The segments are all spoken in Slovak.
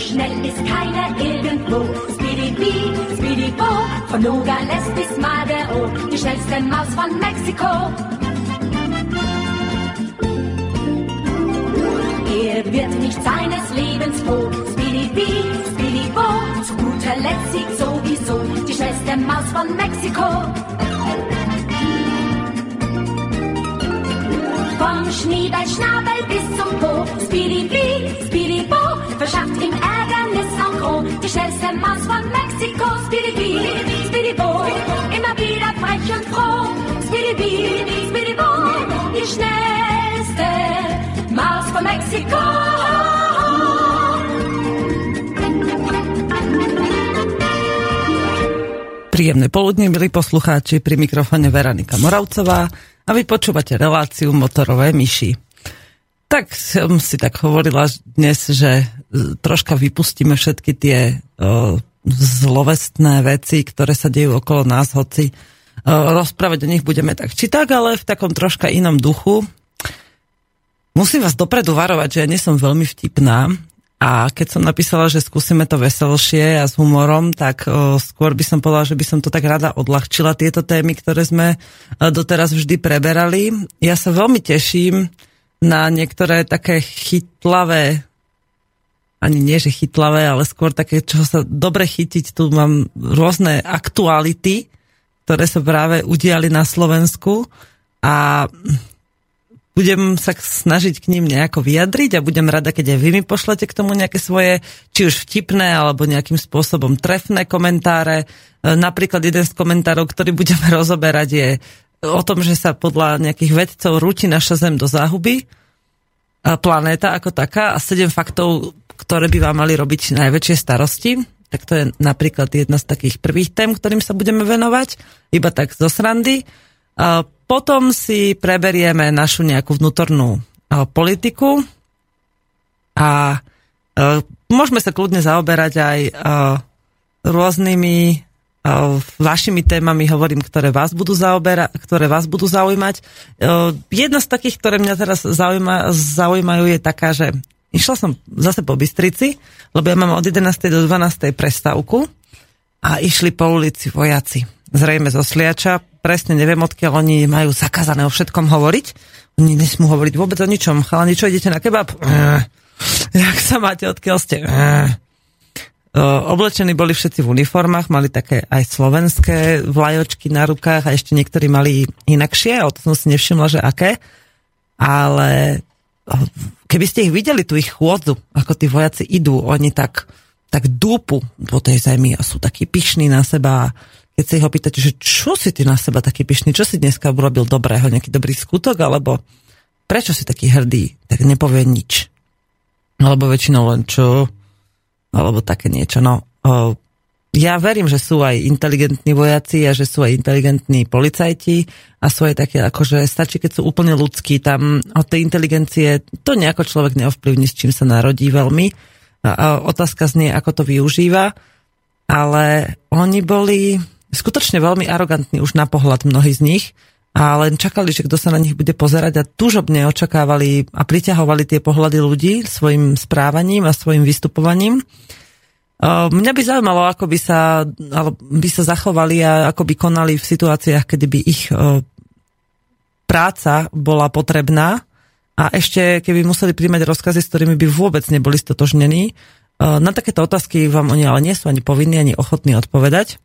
schnell ist keiner irgendwo. Speedy-Bee, Speedy-Bo, von Nogales bis Madero, die schnellste Maus von Mexiko. Er wird nicht seines Lebens froh. Speedy-Bee, Speedy-Bo, zu guter Letzt siegt sowieso die schnellste Maus von Mexiko. Vom Schniebelschnabel bis zum Po, Speedy-Bee, Speedy-Bo, verschafft ihm Ärgernis en gros. Die schnellste Maus von Mexiko, Speedy-Bee, Speedy-Bo, immer wieder frech und froh. Speedy-Bee, Speedy-Bo, die schnellste Maus von Mexiko. Príjemné poludne, milí poslucháči, pri mikrofóne Veronika Moravcová a vy počúvate reláciu Motorové myši. Tak som si tak hovorila dnes, že troška vypustíme všetky tie zlovestné veci, ktoré sa dejú okolo nás, hoci rozprávať o nich budeme tak či tak, ale v takom troška inom duchu. Musím vás dopredu varovať, že ja nie som veľmi vtipná. A keď som napísala, že skúsime to veselšie a s humorom, tak skôr by som povedala, že by som to tak rada odľahčila, tieto témy, ktoré sme doteraz vždy preberali. Ja sa veľmi teším na niektoré také chytlavé, ani nie že chytlavé, ale skôr také, čo sa dobre chytiť. Tu mám rôzne aktuality, ktoré sa práve udiali na Slovensku a budem sa snažiť k ním nejako vyjadriť a budem rada, keď aj vy mi pošlete k tomu nejaké svoje, či už vtipné, alebo nejakým spôsobom trefné komentáre. Napríklad jeden z komentárov, ktorý budeme rozoberať, je o tom, že sa podľa nejakých vedcov rúti naša Zem do záhuby, planéta ako taká, a 7 faktov, ktoré by vám mali robiť najväčšie starosti. Tak to je napríklad jedna z takých prvých tém, ktorým sa budeme venovať, iba tak zo srandy. Potom si preberieme našu nejakú vnútornú politiku a môžeme sa kľudne zaoberať aj rôznymi vašimi témami, hovorím, ktoré vás budú zaujímať. Jedna z takých, ktoré mňa teraz zaujímajú, je taká, že išla som zase po Bystrici, lebo ja mám od 11. do 12. prestávku a išli po ulici vojaci. Zrejme zo Sliača, presne neviem, odkiaľ oni majú zakázané o všetkom hovoriť. Oni nesmú hovoriť vôbec o ničom. Chalani, čo, idete na kebab? Jak sa máte, odkiaľ ste? Oblečení boli všetci v uniformách, mali také aj slovenské vlajočky na rukách a ešte niektorí mali inakšie, o to som si nevšimla, že aké. Ale keby ste ich videli, tu ich chôdzu, ako tí vojaci idú, oni tak dúpu po tej zemi a sú takí pyšní na seba. Keď sa ich opýtate, že čo si ty na seba taký pyšný, čo si dneska urobil dobrého, nejaký dobrý skutok, alebo prečo si taký hrdý, tak nepovie nič. Alebo väčšinou len čo, alebo také niečo. No, ja verím, že sú aj inteligentní vojaci a že sú aj inteligentní policajti a sú aj také, akože stačí, keď sú úplne ľudskí, tam od tej inteligencie to nejako človek neovplyvní, s čím sa narodí veľmi. A otázka znie, ako to využíva, ale oni boli skutočne veľmi arogantní už na pohľad, mnohí z nich, a len čakali, že kto sa na nich bude pozerať a túžobne očakávali a priťahovali tie pohľady ľudí svojim správaním a svojim vystupovaním. Mňa by zaujímalo, ako by sa zachovali a ako by konali v situáciách, kedy by ich práca bola potrebná a ešte keby museli príjmať rozkazy, s ktorými by vôbec neboli stotožnení. Na takéto otázky vám oni ale nie sú ani povinní, ani ochotní odpovedať.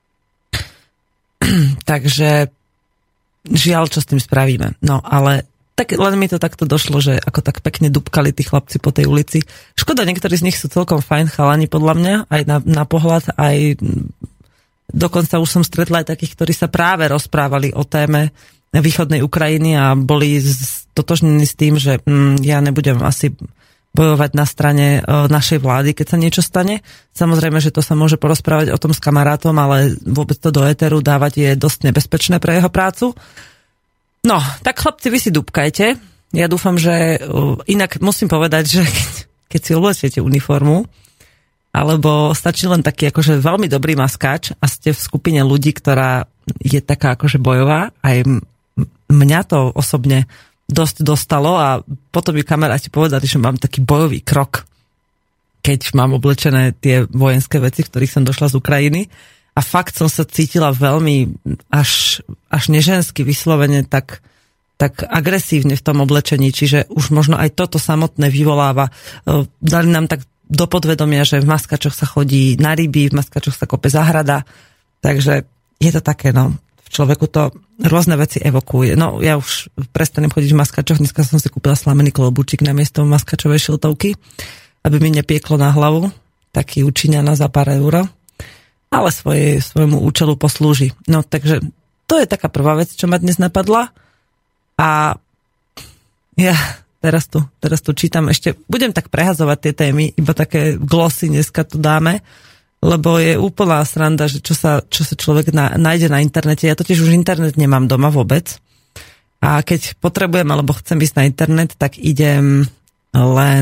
Takže žiaľ, čo s tým spravíme. No, ale tak len mi to takto došlo, že ako tak pekne dúbkali tí chlapci po tej ulici. Škoda, niektorí z nich sú celkom fajn chalani, podľa mňa, aj na pohľad, aj dokonca už som stretla aj takých, ktorí sa práve rozprávali o téme východnej Ukrajiny a boli stotožnení s tým, že ja nebudem asi bojovať na strane našej vlády, keď sa niečo stane. Samozrejme, že to sa môže porozprávať o tom s kamarátom, ale vôbec to do éteru dávať je dosť nebezpečné pre jeho prácu. No, tak chlapci, vy si dúbkajte. Ja dúfam, že inak musím povedať, že keď si oblečiete uniformu, alebo stačí len taký akože veľmi dobrý maskáč a ste v skupine ľudí, ktorá je taká akože bojová, aj mňa to osobne dosť dostalo a potom mi kamaráti povedali, že mám taký bojový krok. keď mám oblečené tie vojenské veci, v ktorých som došla z Ukrajiny. A fakt som sa cítila veľmi až nežensky vyslovene tak agresívne v tom oblečení, čiže už možno aj toto samotné vyvoláva. Dali nám tak do podvedomia, že v maskačoch sa chodí na ryby, v maskačoch sa kope záhrada, takže je to také, no, v človeku to rôzne veci evokuje. No, ja už prestanem chodiť v maskačoch, dneska som si kúpila slamený klobúčik na miesto maskačovej šiltovky, aby mi nepieklo na hlavu, taký Učiňana za pár eur, ale svojmu účelu poslúži. No, takže to je taká prvá vec, čo ma dnes napadla. A ja teraz tu čítam ešte, budem tak prehazovať tie témy, iba také glosy dneska tu dáme, lebo je úplná sranda, že čo sa človek nájde na internete. Ja totiž už internet nemám doma vôbec. A keď potrebujem, alebo chcem ísť na internet, tak idem len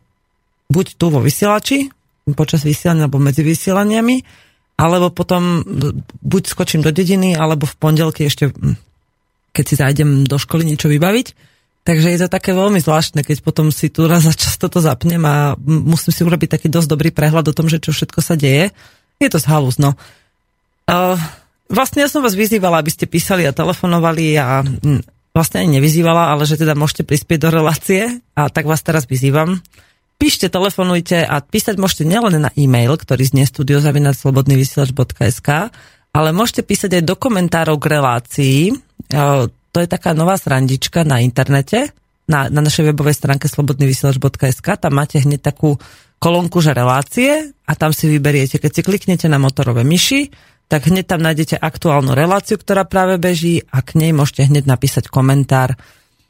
buď tu vo vysielači, počas vysielania, alebo medzi vysielaniami, alebo potom buď skočím do dediny, alebo v pondelky ešte, keď si zájdem do školy niečo vybaviť. Takže je to také veľmi zvláštne, keď potom si tu raz za čas toto zapnem a musím si urobiť taký dosť dobrý prehľad o tom, že čo všetko sa deje. Je to zhalúz, no. Vlastne ja som vás vyzývala, aby ste písali a telefonovali a vlastne ani nevyzývala, ale že teda môžete prispieť do relácie a tak vás teraz vyzývam. Píšte, telefonujte a písať môžete nielen na e-mail, ktorý znie studio@slobodnyvysielac.sk, ale môžete písať aj do komentárov k relácii. To je taká nová srandička na internete, na našej webovej stránke slobodnyvysielac.sk. Tam máte hneď takú kolónku, že relácie a tam si vyberiete. Keď si kliknete na motorové myši, tak hneď tam nájdete aktuálnu reláciu, ktorá práve beží a k nej môžete hneď napísať komentár.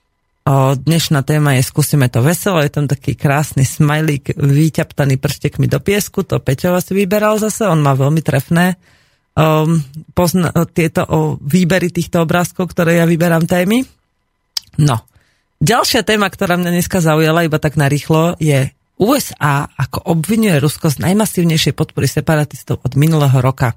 Dnešná téma je Skúsime to veselo, je tam taký krásny smajlík vyťaptaný prštekmi do piesku, to Peťo si vyberal zase, on má veľmi trefné tieto výbery týchto obrázkov, ktoré ja vyberám témy. No, ďalšia téma, ktorá mňa dneska zaujala iba tak narýchlo, je USA ako obvinuje Rusko z najmasívnejšej podpory separatistov od minulého roka.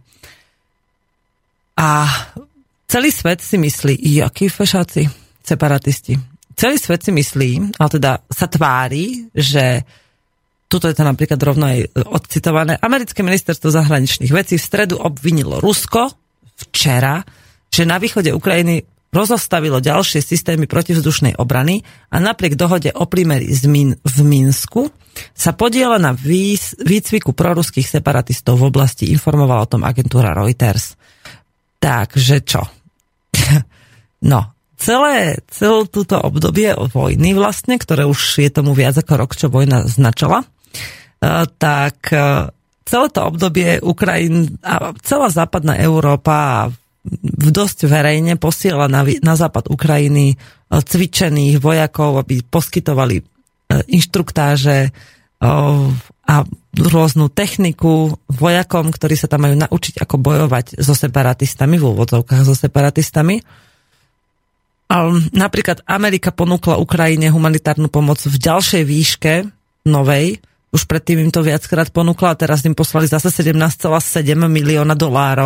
A celý svet si myslí, jakí fešáci separatisti. Celý svet si myslí, ale teda sa tvári, že tuto je to napríklad rovno aj odcitované, americké ministerstvo zahraničných vecí v stredu obvinilo Rusko včera, že na východe Ukrajiny rozostavilo ďalšie systémy protivzdušnej obrany a napriek dohode o prímeri v Minsku sa podieľa na výcviku proruských separatistov v oblasti, informovala o tom agentúra Reuters. Takže čo? No, celé túto obdobie vojny vlastne, ktoré už je tomu viac ako rok, čo vojna značala, tak celé to obdobie Ukrajina a celá západná Európa dosť verejne posiela na západ Ukrajiny cvičených vojakov, aby poskytovali inštruktáže a rôznu techniku vojakom, ktorí sa tam majú naučiť, ako bojovať so separatistami, v úvodzovkách so separatistami. Napríklad Amerika ponúkla Ukrajine humanitárnu pomoc v ďalšej výške, novej, už predtým im to viackrát ponúkla a teraz im poslali zase $17,7 milióna.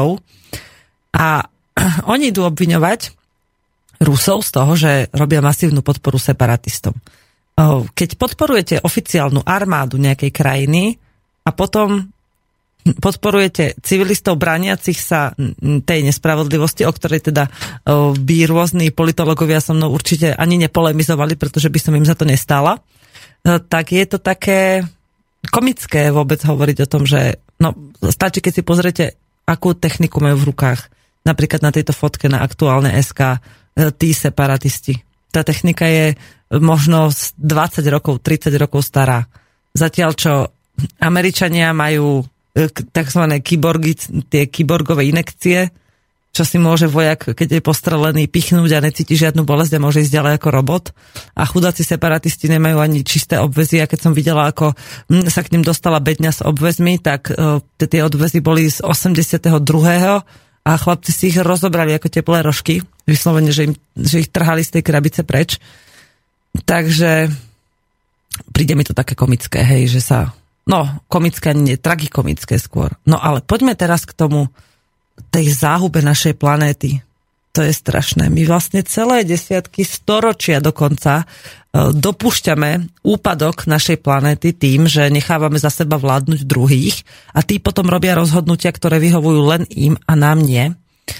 A oni idú obviňovať Rusov z toho, že robia masívnu podporu separatistom. Keď podporujete oficiálnu armádu nejakej krajiny a potom podporujete civilistov brániacich sa tej nespravodlivosti, o ktorej teda by rôzni politológovia so mnou určite ani nepolemizovali, pretože by som im za to nestála, tak je to také komické vôbec hovoriť o tom, že no, stačí, keď si pozriete, akú techniku majú v rukách. Napríklad na tejto fotke na aktuálne SK tí separatisti. Tá technika je možno 20 rokov, 30 rokov stará. Zatiaľ, čo Američania majú takzvané kyborgy, tie kyborgové inekcie, čo si môže vojak, keď je postrelený, pichnúť a necíti žiadnu bolesť a môže ísť ďalej ako robot. A chudáci separatisti nemajú ani čisté obväzy. A keď som videla, ako sa k ním dostala bedňa s obväzmi, tak tie obväzy boli z 82. a chlapci si ich rozobrali ako teplé rožky. Vyslovene, že ich trhali z tej krabice preč. Takže príde mi to také komické, hej, že sa... No, komické, nie, tragikomické skôr. No ale poďme teraz k tomu, tej záhube našej planéty. to je strašné. My vlastne celé desiatky, storočia dokonca dopúšťame úpadok našej planéty tým, že nechávame za seba vládnuť druhých a tí potom robia rozhodnutia, ktoré vyhovujú len im a nám nie.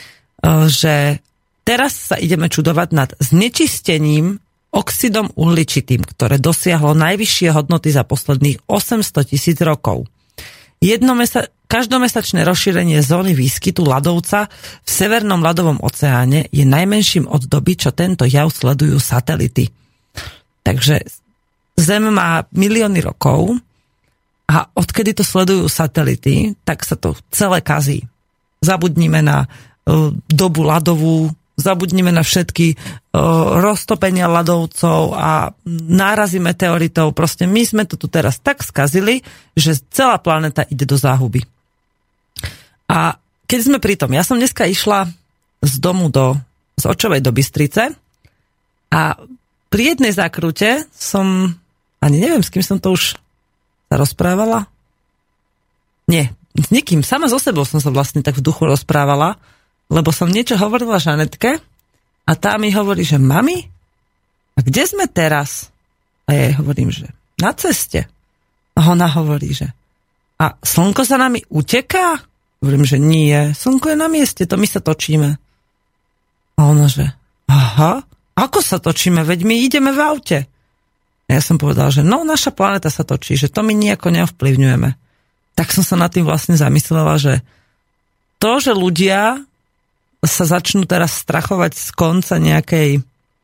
Že teraz sa ideme čudovať nad znečistením oxidom uhličitým, ktoré dosiahlo najvyššie hodnoty za posledných 800 000 rokov. Každomesačné rozšírenie zóny výskytu ľadovca v Severnom ľadovom oceáne je najmenším od doby, čo tento jav sledujú satelity. Takže Zem má milióny rokov a odkedy to sledujú satelity, tak sa to celé kazí. Zabudnime na dobu ľadovú, zabudnime na všetky roztopenia ľadovcov a nárazy meteoritov. Proste my sme to tu teraz tak skazili, že celá planéta ide do záhuby. A keď sme pri tom, ja som dneska išla z domu z Očovej do Bystrice a pri jednej zákrute som, ani neviem, s kým som to už sa rozprávala. Nie, s nikým, sama so sebou som sa vlastne tak v duchu rozprávala, lebo som niečo hovorila Žanetke a tá mi hovorí, že mami, a kde sme teraz? A ja jej hovorím, že na ceste. A ona hovorí, že a slnko za nami uteká? Hovorím, že nie, slnko je na mieste, to my sa točíme. A ona, že aha, ako sa točíme, veď my ideme v aute. A ja som povedal, že no, naša planéta sa točí, že to my nejako neovplyvňujeme. Tak som sa nad tým vlastne zamyslela, že to, že ľudia sa začnú teraz strachovať z konca nejakej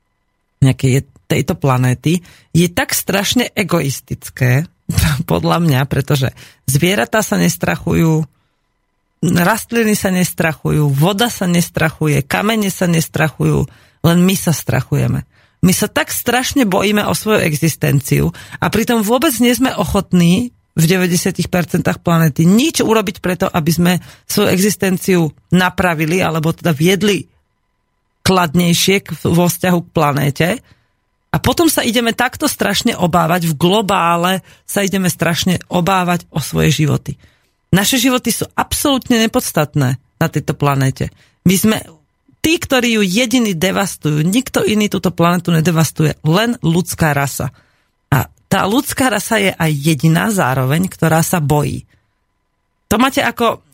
tejto planéty, je tak strašne egoistické, podľa mňa, pretože zvieratá sa nestrachujú, rastliny sa nestrachujú, voda sa nestrachuje, kamene sa nestrachujú, len my sa strachujeme. My sa tak strašne bojíme o svoju existenciu a pritom vôbec nie sme ochotní v 90% planéty nič urobiť preto, aby sme svoju existenciu napravili alebo teda viedli kladnejšie vo vzťahu k planéte. A potom sa ideme takto strašne obávať, v globále sa ideme strašne obávať o svoje životy. Naše životy sú absolútne nepodstatné na tejto planéte. My sme tí, ktorí ju jediní devastujú. Nikto iný túto planetu nedevastuje, len ľudská rasa. Tá ľudská rasa je aj jediná zároveň, ktorá sa bojí. To máte ako...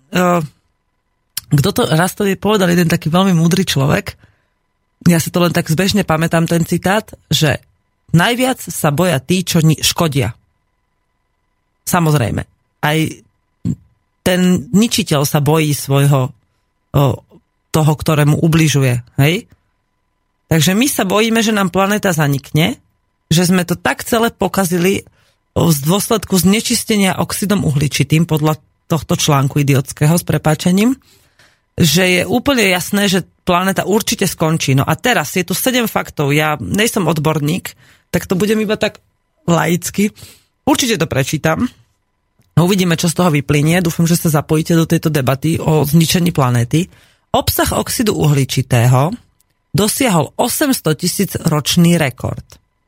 kto to raz to povedal, jeden taký veľmi múdry človek, ja si to len tak zbežne pamätám ten citát, že najviac sa boja tí, čo škodia. Samozrejme. Aj ten ničiteľ sa bojí svojho toho, ktorému ubližuje. Hej? Takže my sa bojíme, že nám planéta zanikne, že sme to tak celé pokazili z dôsledku znečistenia oxidom uhličitým podľa tohto článku idiotského s prepáčením, že je úplne jasné, že planéta určite skončí. No a teraz je tu 7 faktov. Ja nejsom odborník, tak to budem iba tak laicky. Určite to prečítam. Uvidíme, čo z toho vyplynie. Dúfam, že sa zapojíte do tejto debaty o zničení planéty. Obsah oxidu uhličitého dosiahol 800 000 ročný rekord.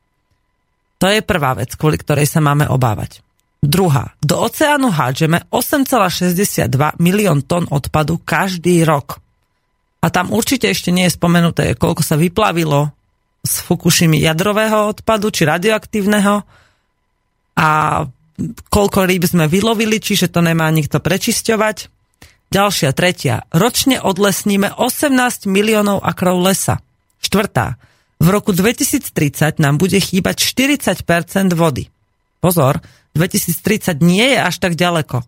To je prvá vec, kvôli ktorej sa máme obávať. Druhá. Do oceánu hádžeme 8,62 milión tón odpadu každý rok. A tam určite ešte nie je spomenuté, koľko sa vyplavilo z Fukušimy jadrového odpadu, či radioaktívneho a koľko rýb sme vylovili, čiže to nemá nikto prečisťovať. Ďalšia, tretia. Ročne odlesníme 18 miliónov akrov lesa. Štvrtá. V roku 2030 nám bude chýbať 40% vody. Pozor, 2030 nie je až tak ďaleko.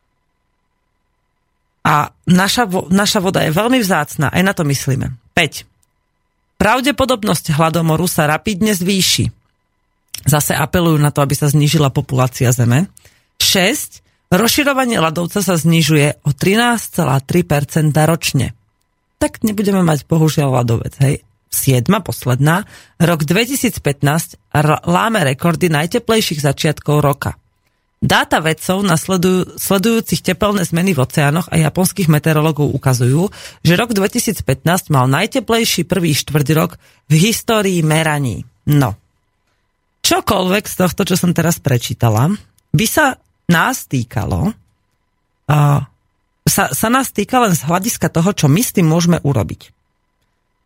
A naša voda je veľmi vzácna, aj na to myslíme. 5. Pravdepodobnosť hladomoru sa rapidne zvýši. Zase apelujú na to, aby sa znížila populácia Zeme. 6. Rozširovanie ľadovca sa znižuje o 13,3% ročne. Tak nebudeme mať bohužiaľ ľadovec, hej. 7. posledná. Rok 2015 láme rekordy najteplejších začiatkov roka. Dáta vedcov na sledujúcich tepelné zmeny v oceánoch a japonských meteorológov ukazujú, že rok 2015 mal najteplejší prvý štvrťrok v histórii meraní. No. Čokoľvek z tohto, čo som teraz prečítala, by sa nás týkalo, sa nás týka len z hľadiska toho, čo my s tým môžeme urobiť.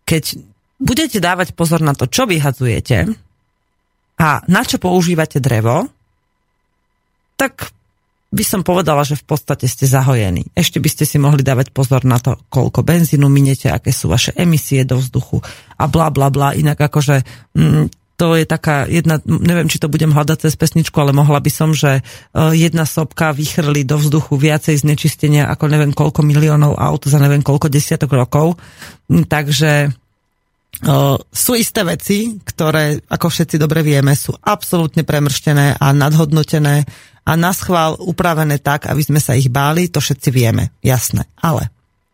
keď budete dávať pozor na to, čo vyhadzujete a na čo používate drevo, tak by som povedala, že v podstate ste zahojení. Ešte by ste si mohli dávať pozor na to, koľko benzínu miniete, aké sú vaše emisie do vzduchu a bla bla bla. Inak akože to je taká jedna, neviem, či to budem hľadať cez pesničku, ale mohla by som, že jedna sopka vychrli do vzduchu viacej znečistenia ako neviem koľko miliónov aut za neviem koľko desiatok rokov. Takže sú isté veci, ktoré, ako všetci dobre vieme, sú absolútne premrštené a nadhodnotené a naschvál upravené tak, aby sme sa ich báli, to všetci vieme, jasné. Ale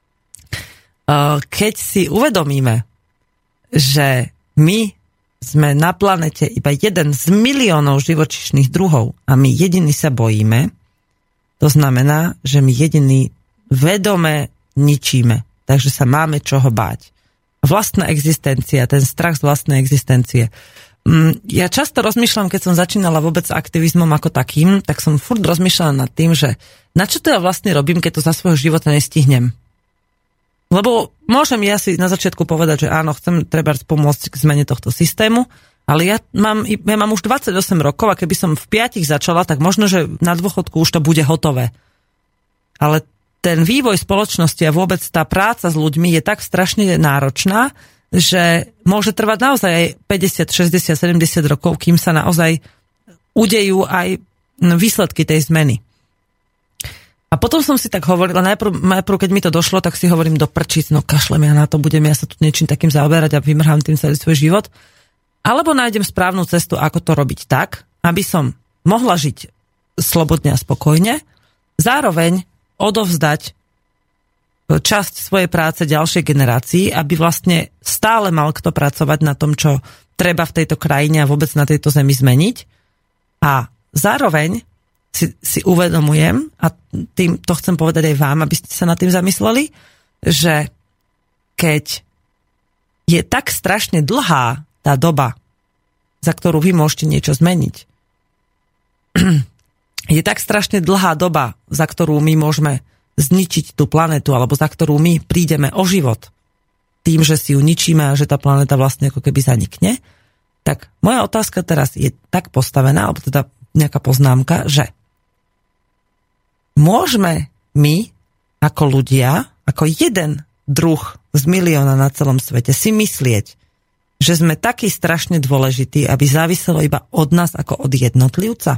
keď si uvedomíme, že my sme na planete iba jeden z miliónov živočíšnych druhov a my jediní sa bojíme, to znamená, že my jediní vedome ničíme, takže sa máme čoho báť. Vlastná existencia, ten strach z vlastnej existencie. Ja často rozmýšľam, keď som začínala vôbec s aktivizmom ako takým, tak som furt rozmýšľala nad tým, že na čo to ja vlastne robím, keď to za svojho života nestihnem. Lebo môžem ja si na začiatku povedať, že áno, chcem trebárs pomôcť k zmene tohto systému, ale ja mám už 28 rokov a keby som v 5 začala, tak možno, že na dôchodku už to bude hotové. Ale ten vývoj spoločnosti a vôbec tá práca s ľuďmi je tak strašne náročná, že môže trvať naozaj aj 50, 60, 70 rokov, kým sa naozaj udejú aj výsledky tej zmeny. A potom som si tak hovorila, najprv keď mi to došlo, tak si hovorím do prčíc, no kašlem ja na to, budem ja sa tu niečím takým zaoberať a vymrhám tým celý svoj život. Alebo nájdem správnu cestu, ako to robiť tak, aby som mohla žiť slobodne a spokojne, zároveň odovzdať časť svojej práce ďalšej generácii, aby vlastne stále mal kto pracovať na tom, čo treba v tejto krajine a vôbec na tejto zemi zmeniť. A zároveň si uvedomujem, a tým to chcem povedať aj vám, aby ste sa nad tým zamysleli, že keď je tak strašne dlhá tá doba, za ktorú vy môžete niečo zmeniť, je tak strašne dlhá doba, za ktorú my môžeme zničiť tú planetu, alebo za ktorú my prídeme o život tým, že si ju ničíme a že tá planéta vlastne ako keby zanikne, tak moja otázka teraz je tak postavená, alebo teda nejaká poznámka, že môžeme my ako ľudia, ako jeden druh z milióna na celom svete si myslieť, že sme takí strašne dôležití, aby záviselo iba od nás ako od jednotlivca?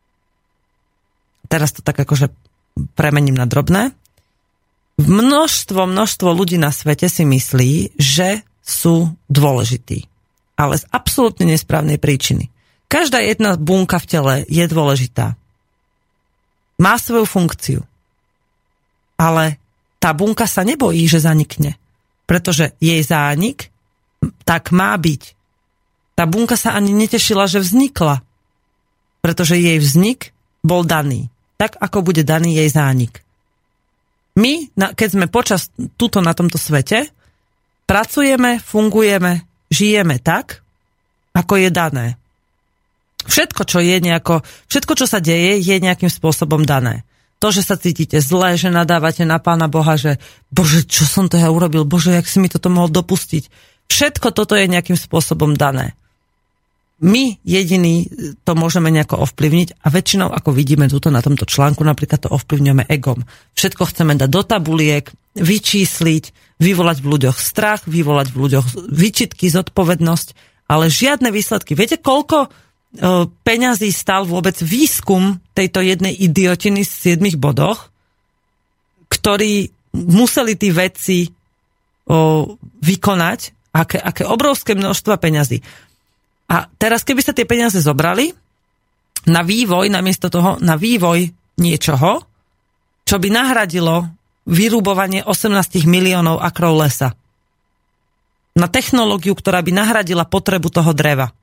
Teraz to tak akože premením na drobné. Množstvo ľudí na svete si myslí, že sú dôležití. Ale z absolútne nesprávnej príčiny. Každá jedna bunka v tele je dôležitá. Má svoju funkciu. Ale tá bunka sa nebojí, že zanikne. Pretože jej zánik tak má byť. Tá bunka sa ani netešila, že vznikla. Pretože jej vznik bol daný. Tak, ako bude daný jej zánik. My, keď sme počas tuto na tomto svete, pracujeme, fungujeme, žijeme tak, ako je dané. Všetko, čo sa deje, je nejakým spôsobom dané. To, že sa cítite zle, že nadávate na Pána Boha, že Bože, čo som to ja urobil? Bože, jak si mi toto mohol dopustiť? Všetko toto je nejakým spôsobom dané. My jediní to môžeme nejako ovplyvniť a väčšinou, ako vidíme tuto na tomto článku, napríklad to ovplyvňujeme egom. Všetko chceme dať do tabuliek, vyčísliť, vyvolať v ľuďoch strach, vyvolať v ľuďoch výčitky, zodpovednosť, ale žiadne výsledky. Viete, koľko peňazí stál vôbec výskum tejto jednej idiotiny z 7 bodoch, ktorí museli tí vedci vykonať, aké obrovské množstva peňazí. A teraz, keby sa tie peniaze zobrali na vývoj, namiesto toho na vývoj niečoho, čo by nahradilo vyrúbovanie 18 miliónov akrov lesa. Na technológiu, ktorá by nahradila potrebu toho dreva.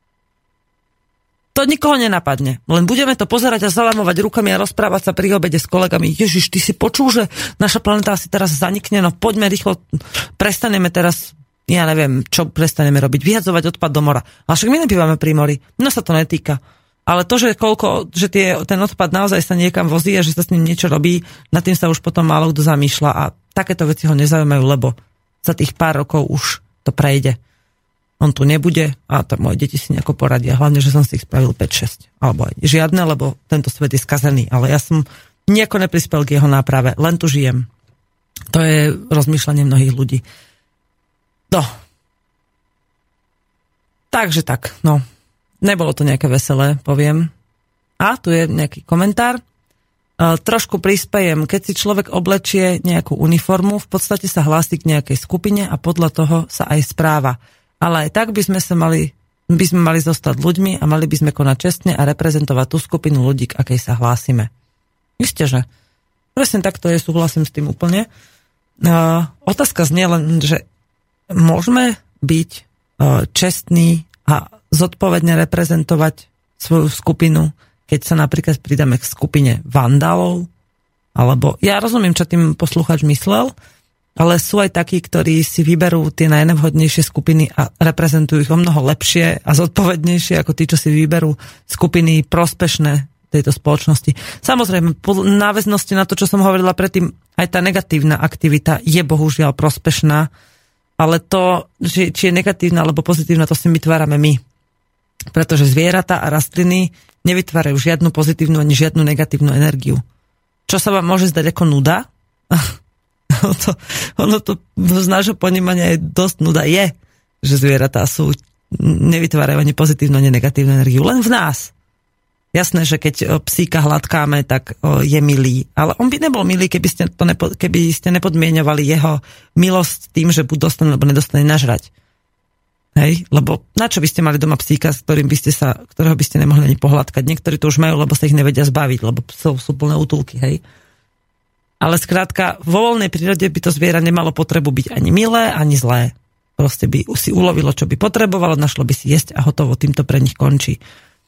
To nikoho nenapadne. Len budeme to pozerať a zalamovať rukami a rozprávať sa pri obede s kolegami. Ježiš, ty si počul, že naša planéta asi teraz zanikne, no poďme rýchlo, prestaneme teraz, ja neviem, čo prestaneme robiť, vyhadzovať odpad do mora. Ale však my nebývame pri mori, no sa to netýka. Ale to, že ten odpad naozaj sa niekam vozí a že sa s ním niečo robí, nad tým sa už potom málo kto zamýšľa a takéto veci ho nezaujímajú, lebo za tých pár rokov už to prejde. On tu nebude a to moje deti si nejako poradia. Hlavne, že som si ich spravil 5-6. Alebo aj žiadne, lebo tento svet je skazený. Ale ja som nejako neprispel k jeho náprave. Len tu žijem. To je rozmýšľanie mnohých ľudí. No. Takže tak, no. Nebolo to nejaké veselé, poviem. A tu je nejaký komentár. Trošku prispejem, keď si človek oblečie nejakú uniformu, v podstate sa hlási k nejakej skupine a podľa toho sa aj správa. Ale aj tak by sme mali zostať ľuďmi a mali by sme konať čestne a reprezentovať tú skupinu ľudí, k akej sa hlásime. Isté, že presne takto je, súhlasím s tým úplne. Otázka znie len, že môžeme byť čestní a zodpovedne reprezentovať svoju skupinu, keď sa napríklad pridáme k skupine vandalov, alebo ja rozumiem, čo tým posluchač myslel, ale sú aj takí, ktorí si vyberú tie najnevhodnejšie skupiny a reprezentujú ich o mnoho lepšie a zodpovednejšie ako tí, čo si vyberú skupiny prospešné tejto spoločnosti. Samozrejme, po náväznosti na to, čo som hovorila predtým, aj tá negatívna aktivita je bohužiaľ prospešná, ale to, či je negatívna alebo pozitívna, to si vytvárame my. Pretože zvieratá a rastliny nevytvárajú žiadnu pozitívnu ani žiadnu negatívnu energiu. Čo sa vám môže zdať ako nuda? Ono to z nášho ponímania je dosť nuda je, že zvieratá nevytvárajú ani pozitívnu, ani negatívnu energiu. Len v nás. Jasné, že keď psíka hladkáme, tak je milý. Ale on by nebol milý, keby ste nepodmieňovali jeho milosť tým, že buď dostane, alebo nedostane nažrať. Hej? Lebo na čo by ste mali doma psíka, ktorého by ste nemohli ani pohľadkať? Niektorí to už majú, lebo sa ich nevedia zbaviť, lebo sú plné útulky, hej? Ale skrátka, vo voľnej prírode by to zviera nemalo potrebu byť ani milé, ani zlé. Proste by si ulovilo, čo by potrebovalo, našlo by si jesť a hotovo, týmto pre nich končí.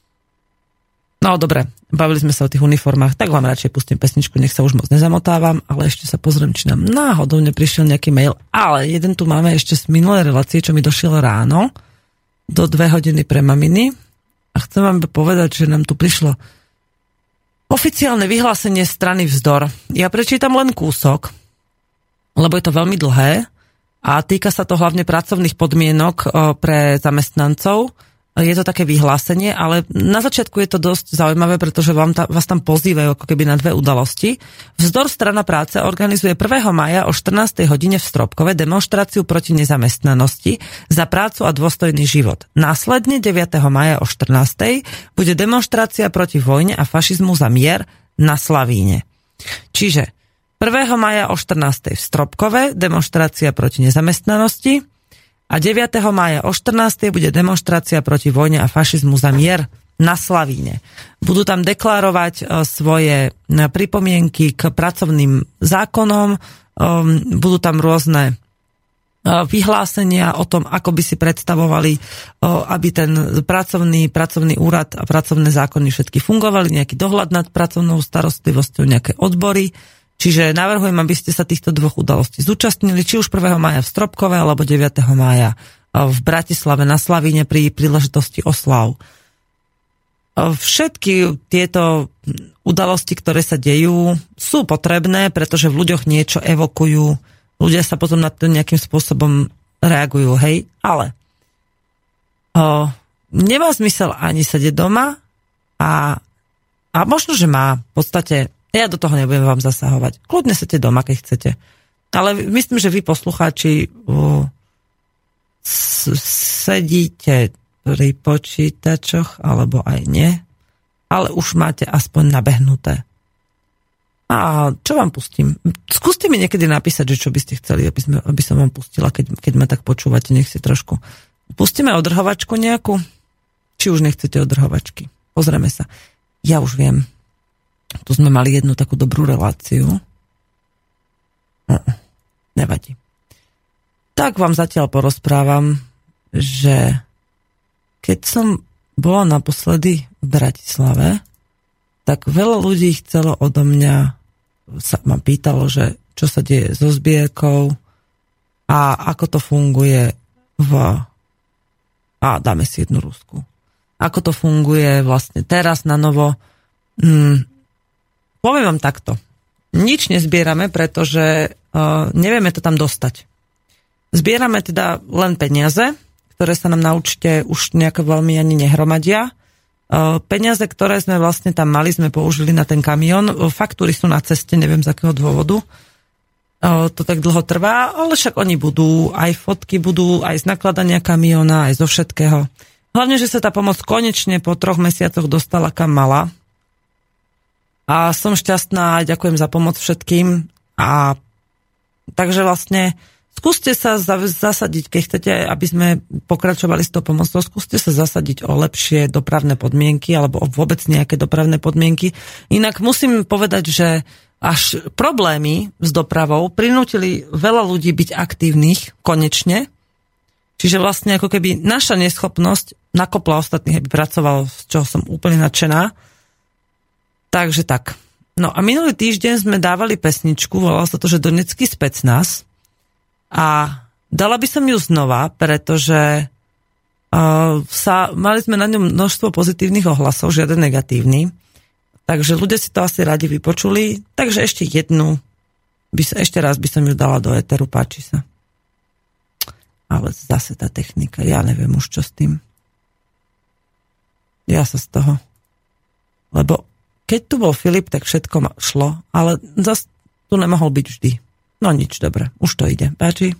No dobre, bavili sme sa o tých uniformách, tak vám radšej pustím pesničku, nech sa už moc nezamotávam, ale ešte sa pozriem, či nám náhodou neprišiel nejaký mail. Ale jeden tu máme ešte z minulej relácie, čo mi došiel ráno, do 2 hodiny pre maminy. A chcem vám povedať, že nám tu prišlo oficiálne vyhlásenie strany Vzdor. Ja prečítam len kúsok, lebo je to veľmi dlhé a týka sa to hlavne pracovných podmienok pre zamestnancov. Je to také vyhlásenie, ale na začiatku je to dosť zaujímavé, pretože vás tam pozývajú ako keby na 2 udalosti. Vzdor strana práce organizuje 1. mája o 14. hodine v Stropkove demonštráciu proti nezamestnanosti za prácu a dôstojný život. Následne 9. mája o 14. bude demonštrácia proti vojne a fašizmu za mier na Slavíne. Čiže 1. mája o 14. v Stropkove demonštrácia proti nezamestnanosti a 9. mája o 14. bude demonštrácia proti vojne a fašizmu za mier na Slavíne. Budú tam deklarovať svoje pripomienky k pracovným zákonom, budú tam rôzne vyhlásenia o tom, ako by si predstavovali, aby ten pracovný úrad a pracovné zákony všetky fungovali, nejaký dohľad nad pracovnou starostlivosťou, nejaké odbory. Čiže navrhujem, aby ste sa týchto 2 udalostí zúčastnili, či už 1. mája v Stropkove, alebo 9. mája v Bratislave na Slavíne pri príležitosti oslav. Všetky tieto udalosti, ktoré sa dejú, sú potrebné, pretože v ľuďoch niečo evokujú. Ľudia sa potom na to nejakým spôsobom reagujú, hej? Ale nemá zmysel ani sedieť doma a možno, že má v podstate. Ja do toho nebudem vám zasahovať. Kľudne sedte doma, keď chcete. Ale myslím, že vy poslucháči sedíte pri počítačoch, alebo aj nie, ale už máte aspoň nabehnuté. A čo vám pustím? Skúste mi niekedy napísať, že čo by ste chceli, aby som vám pustila, keď ma tak počúvate, nech si trošku. Pustíme odrhovačku nejakú? Či už nechcete odrhovačky? Pozrieme sa. Ja už viem. Tu sme mali jednu takú dobrú reláciu. Nevadí. Tak vám zatiaľ porozprávam, že keď som bola naposledy v Bratislave, tak veľa ľudí chcelo odo mňa, ma pýtalo, že čo sa deje so zbierkou a ako to funguje a dáme si jednu Rusku. Ako to funguje vlastne teraz na novo. Poviem vám takto. Nič nezbierame, pretože nevieme to tam dostať. Zbierame teda len peniaze, ktoré sa nám na účte už nejako veľmi ani nehromadia. Peniaze, ktoré sme vlastne tam mali, sme použili na ten kamión. Faktúry sú na ceste, neviem z akého dôvodu. To tak dlho trvá, ale však oni budú, aj fotky budú, aj z nakladania kamióna, aj zo všetkého. Hlavne, že sa tá pomoc konečne po 3 mesiacoch dostala kam mala. A som šťastná, ďakujem za pomoc všetkým. A takže vlastne skúste sa zasadiť, keď chcete, aby sme pokračovali s tou pomocou, skúste sa zasadiť o lepšie dopravné podmienky alebo o vôbec nejaké dopravné podmienky. Inak musím povedať, že až problémy s dopravou prinútili veľa ľudí byť aktívnych konečne. Čiže vlastne ako keby naša neschopnosť nakopla ostatných, aby pracoval, z čoho som úplne nadšená. Takže tak. No a minulý týždeň sme dávali pesničku, volala sa to, že Donecký specnaz. A dala by som ju znova, pretože mali sme na ňom množstvo pozitívnych ohlasov, žiaden negatívny. Takže ľudia si to asi radi vypočuli. Takže ešte raz by som ju dala do éteru, páči sa. Ale zase tá technika, ja neviem už čo s tým. Ja sa z toho. Lebo keď tu bol Filip, tak všetko šlo, ale zase tu nemohol byť vždy. No nič, dobre, už to ide. Páči?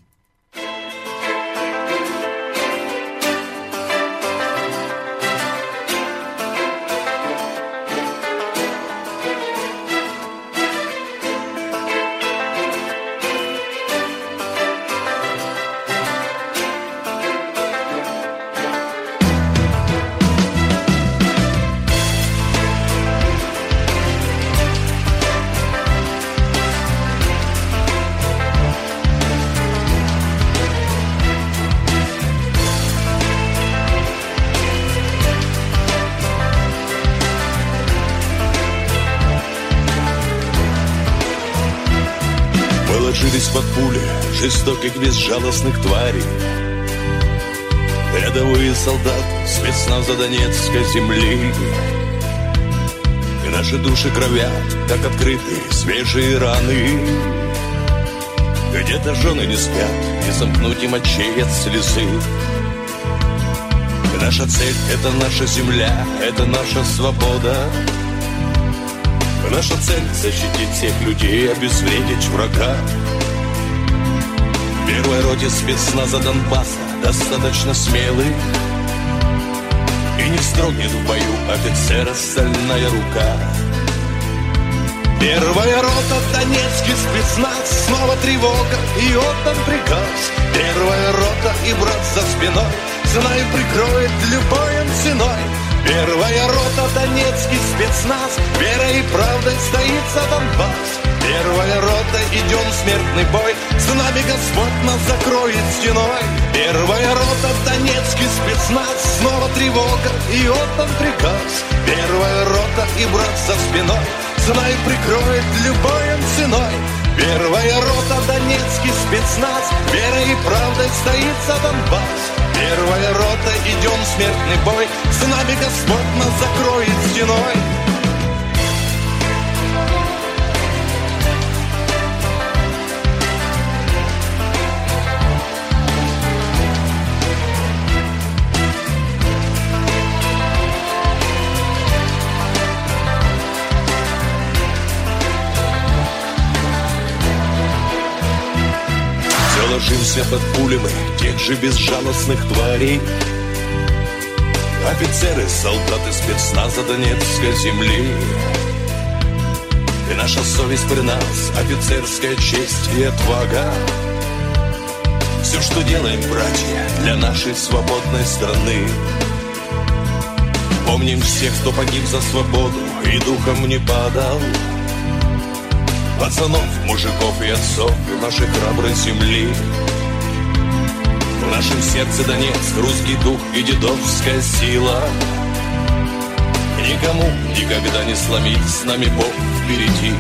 Под пули жестоких безжалостных тварей. Рядовые солдаты спецназа Донецкой земли. И наши души кровят, как открытые свежие раны. Где-то жены не спят, не сомкнуть им очей от слезы. И наша цель — это наша земля, это наша свобода. И наша цель — защитить всех людей, обезвредить врага. В первой роте спецназа Донбасса достаточно смелых, и не строгнет в бою офицера стальная рука. Первая рота Донецкий спецназ, снова тревога и отдан приказ. Первая рота и брат за спиной, знай, прикроет любой он ценой. Первая рота Донецкий спецназ, верой и правдой стоит за Донбасс. Первая рота, идем в смертный бой, с нами Господь нас закроет стеной. Первая рота Донецкий спецназ, снова тревога и отдан приказ. Первая рота и брат за спиной, знай, прикроет любой он ценой. Первая рота Донецкий спецназ, верой и правдой стоит за Донбасс. Первая рота, идем в смертный бой, с нами Господь нас закроет стеной. Ложимся под пулями тех же безжалостных тварей. Офицеры, солдаты спецназа Донецкой земли. И наша совесть при нас, офицерская честь и отвага. Все, что делаем, братья, для нашей свободной страны. Помним всех, кто погиб за свободу и духом не падал. Пацанов, мужиков и отцов нашей храброй земли. В нашем сердце Донецк, русский дух и дедовская сила. Никому никогда не сломить, с нами Бог впереди.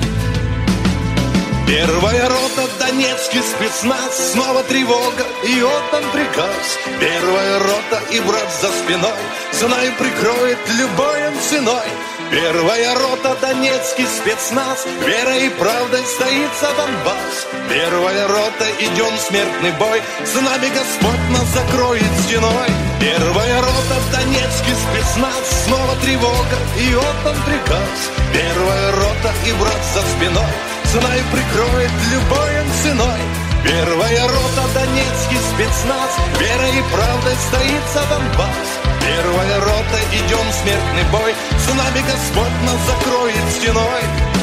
Первая рота Донецкий спецназ, снова тревога и отдан приказ. Первая рота и брат за спиной, знаю, прикроет любой он ценой. Первая рота, Донецкий спецназ, верой и правдой стоит за Донбасс. Первая рота, идем в смертный бой, с нами Господь нас закроет стеной. Первая рота, Донецкий спецназ, снова тревога и отдан приказ. Первая рота и брат за спиной, знай, прикроет любой он ценой. Первая рота, Донецкий спецназ, верой и правдой стоит за Донбасс. Первая рота, идем в смертный бой, с нами Господь нас закроет стеной.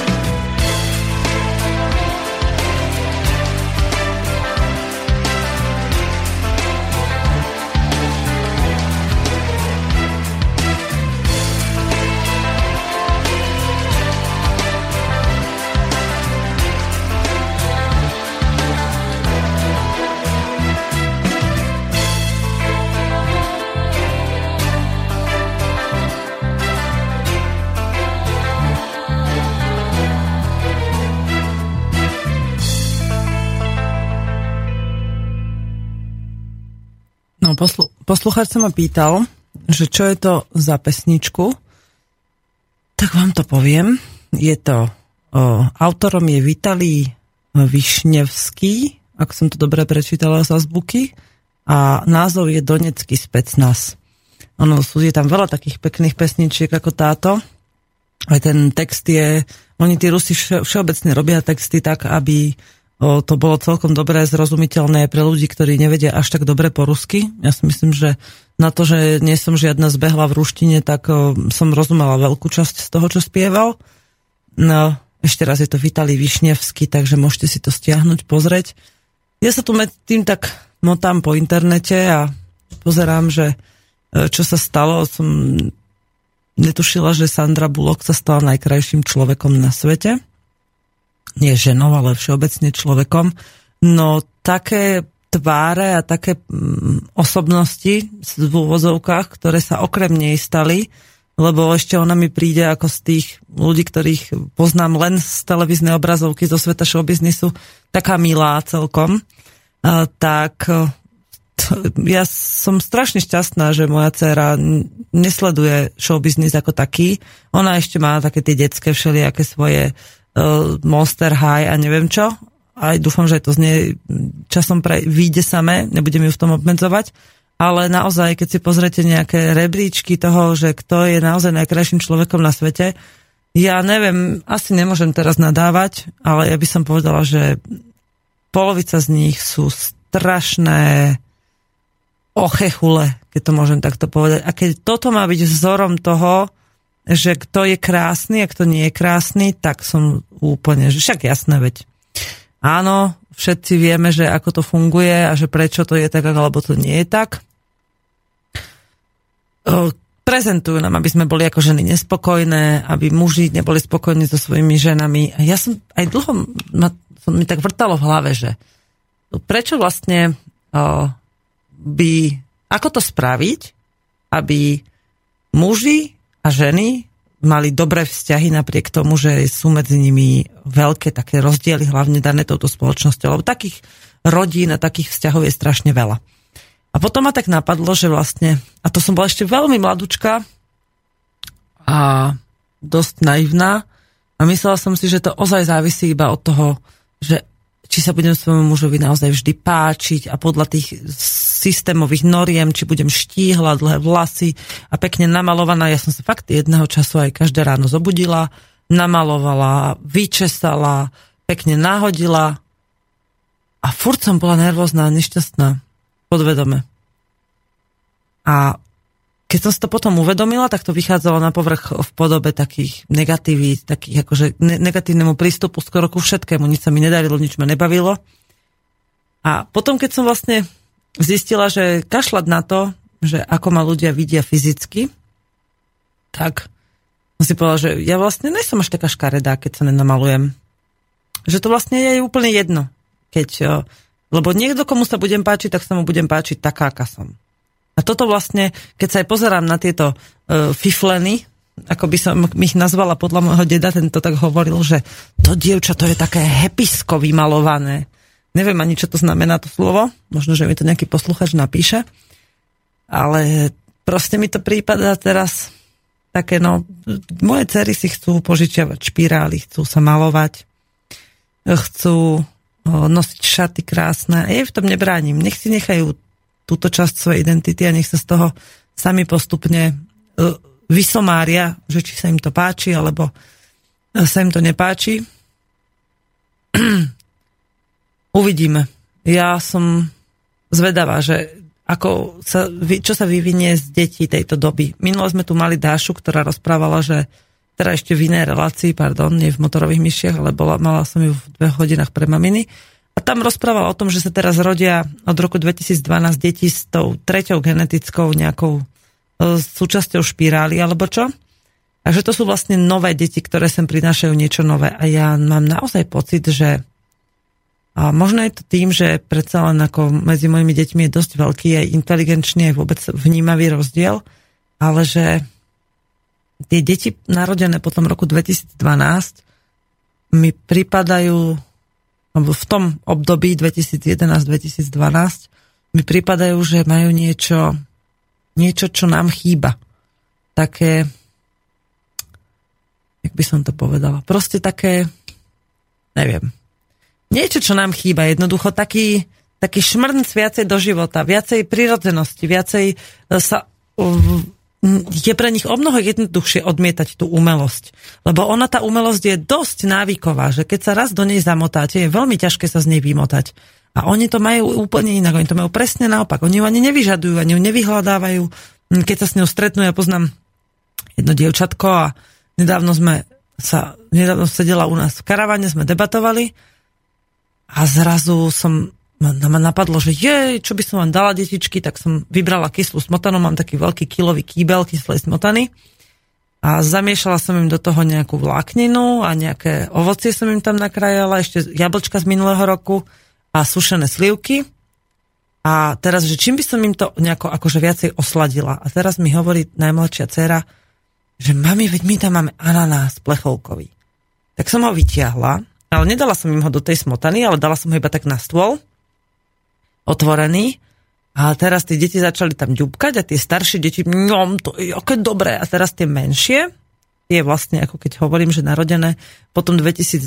No, poslucháč sa ma pýtal, že čo je to za pesničku, tak vám to poviem. Je to, autorom je Vitalij Višnevský, ak som to dobre prečítala z azbuky, a názov je Donecký specnaz. Ono, je tam veľa takých pekných pesničiek ako táto. Aj ten text je, oni tí Rusi všeobecne robia texty tak, aby to bolo celkom dobré, zrozumiteľné pre ľudí, ktorí nevedia až tak dobre po rusky. Ja si myslím, že na to, že nie som žiadna zbehla v ruštine, tak som rozumela veľkú časť z toho, čo spieval. No, ešte raz je to Vitalij Višnevský, takže môžete si to stiahnuť, pozrieť. Ja sa tu tým tak motám po internete a pozerám, že čo sa stalo. Som netušila, že Sandra Bullock sa stala najkrajším človekom na svete. Nie ženou, ale všeobecne človekom. No také tváre a také osobnosti v úvozovkách, ktoré sa okrem nej stali, lebo ešte ona mi príde ako z tých ľudí, ktorých poznám len z televíznej obrazovky zo sveta showbiznisu, taká milá celkom. Ja som strašne šťastná, že moja dcéra nesleduje showbiznis ako taký. Ona ešte má také tie detské všelijaké svoje Monster High a neviem čo. Aj dúfam, že to z nej časom vyjde samé, nebudem ju v tom obmedzovať. Ale naozaj, keď si pozriete nejaké rebríčky toho, že kto je naozaj najkrajším človekom na svete, ja neviem, asi nemôžem teraz nadávať, ale ja by som povedala, že polovica z nich sú strašné ochechule, keď to môžem takto povedať. A keď toto má byť vzorom toho, že kto je krásny a kto nie je krásny, tak som úplne, že však jasné, veď. Áno, všetci vieme, že ako to funguje a že prečo to je tak, alebo to nie je tak. Prezentujú nám, aby sme boli ako ženy nespokojné, aby muži neboli spokojní so svojimi ženami. A ja som aj dlho, mi tak vrtalo v hlave, že prečo vlastne ako to spraviť, aby muži a ženy mali dobré vzťahy napriek tomu, že sú medzi nimi veľké také rozdiely, hlavne dané touto spoločnosťou, lebo takých rodín a takých vzťahov je strašne veľa. A potom ma tak napadlo, že vlastne, a to som bola ešte veľmi mladúčka a dosť naivná a myslela som si, že to ozaj závisí iba od toho, že či sa budem svojmu mužovi naozaj vždy páčiť a podľa tých systémových noriem, či budem štíhla, dlhé vlasy a pekne namalovaná. Ja som sa fakt jedného času aj každé ráno zobudila, namalovala, vyčesala, pekne nahodila a furt som bola nervózna a nešťastná, podvedome. A keď som si to potom uvedomila, tak to vychádzalo na povrch v podobe takých negatívít, takých akože negatívnemu prístupu skoro ku všetkému. Nič sa mi nedarilo, nič ma nebavilo. A potom, keď som vlastne zistila, že kašľať na to, že ako ma ľudia vidia fyzicky, tak som si povedala, že ja vlastne nesom až taká škaredá, keď sa nenamalujem. Že to vlastne je úplne jedno. Lebo niekto, komu sa budem páčiť, tak sa mu budem páčiť taká, aká som. A toto vlastne, keď sa aj pozerám na tieto fifleny, ako by som ich nazvala podľa môjho deda, ten to tak hovoril, že to dievča, to je také hepisko vymalované. Neviem ani, čo to znamená to slovo. Možno, že mi to nejaký posluchač napíše. Ale proste mi to prípada teraz také, no, moje dcery si chcú požičiavať špirály, chcú sa malovať, chcú nosiť šaty krásne. Ja v tom nebránim. Nech si nechajú túto časť svojej identity a nech sa z toho sami postupne vysomária, že či sa im to páči, alebo sa im to nepáči. Uvidíme. Ja som zvedavá, že čo sa vyvinie z detí tejto doby. Minulo sme tu mali Dášu, ktorá rozprávala, že teda ešte v inej relácii, nie v Motorových myšiach, ale mala som ju v 2 hodinách pre maminy. A tam rozprávala o tom, že sa teraz rodia od roku 2012 deti s tou 3. genetickou nejakou súčasťou špirály, alebo čo? A že to sú vlastne nové deti, ktoré sem prinášajú niečo nové. A ja mám naozaj pocit, že a možno je to tým, že predsa len ako medzi mojimi deťmi je dosť veľký aj inteligenčný, aj vôbec vnímavý rozdiel, ale že tie deti narodené po tom roku 2012 mi pripadajú, alebo v tom období 2011-2012 mi pripadajú, že majú niečo, čo nám chýba. Také, jak by som to povedala, proste také, neviem, niečo, čo nám chýba, jednoducho taký šmrnc viacej do života, viacej prirodzenosti, viacej je pre nich o mnoho jednoduchšie odmietať tú umelosť. Lebo tá umelosť je dosť návyková, že keď sa raz do nej zamotáte, je veľmi ťažké sa z nej vymotať. A oni to majú úplne inak, oni to majú presne naopak. Oni ju ani nevyžadujú, ani ju nevyhľadávajú. Keď sa s ňou stretnú, ja poznám jedno dievčatko a nedávno sedela u nás v karavane, sme debatovali a zrazu ma napadlo, že čo by som vám dala, detičky, tak som vybrala kyslú smotanu, mám taký veľký kilový kýbel kyslej smotany a zamiešala som im do toho nejakú vlákninu a nejaké ovocie som im tam nakrájala, ešte jablčka z minulého roku a sušené slivky. A teraz, že čím by som im to nejako akože viacej osladila. A teraz mi hovorí najmladšia dcéra, že mami, veď my tam máme ananás plechovkový. Tak som ho vytiahla, ale nedala som im ho do tej smotany, ale dala som ho iba tak na stôl, otvorený. A teraz tie deti začali tam ďubkať a tie staršie deti, to je aké dobré. A teraz tie menšie, je vlastne, ako keď hovorím, že narodené v tom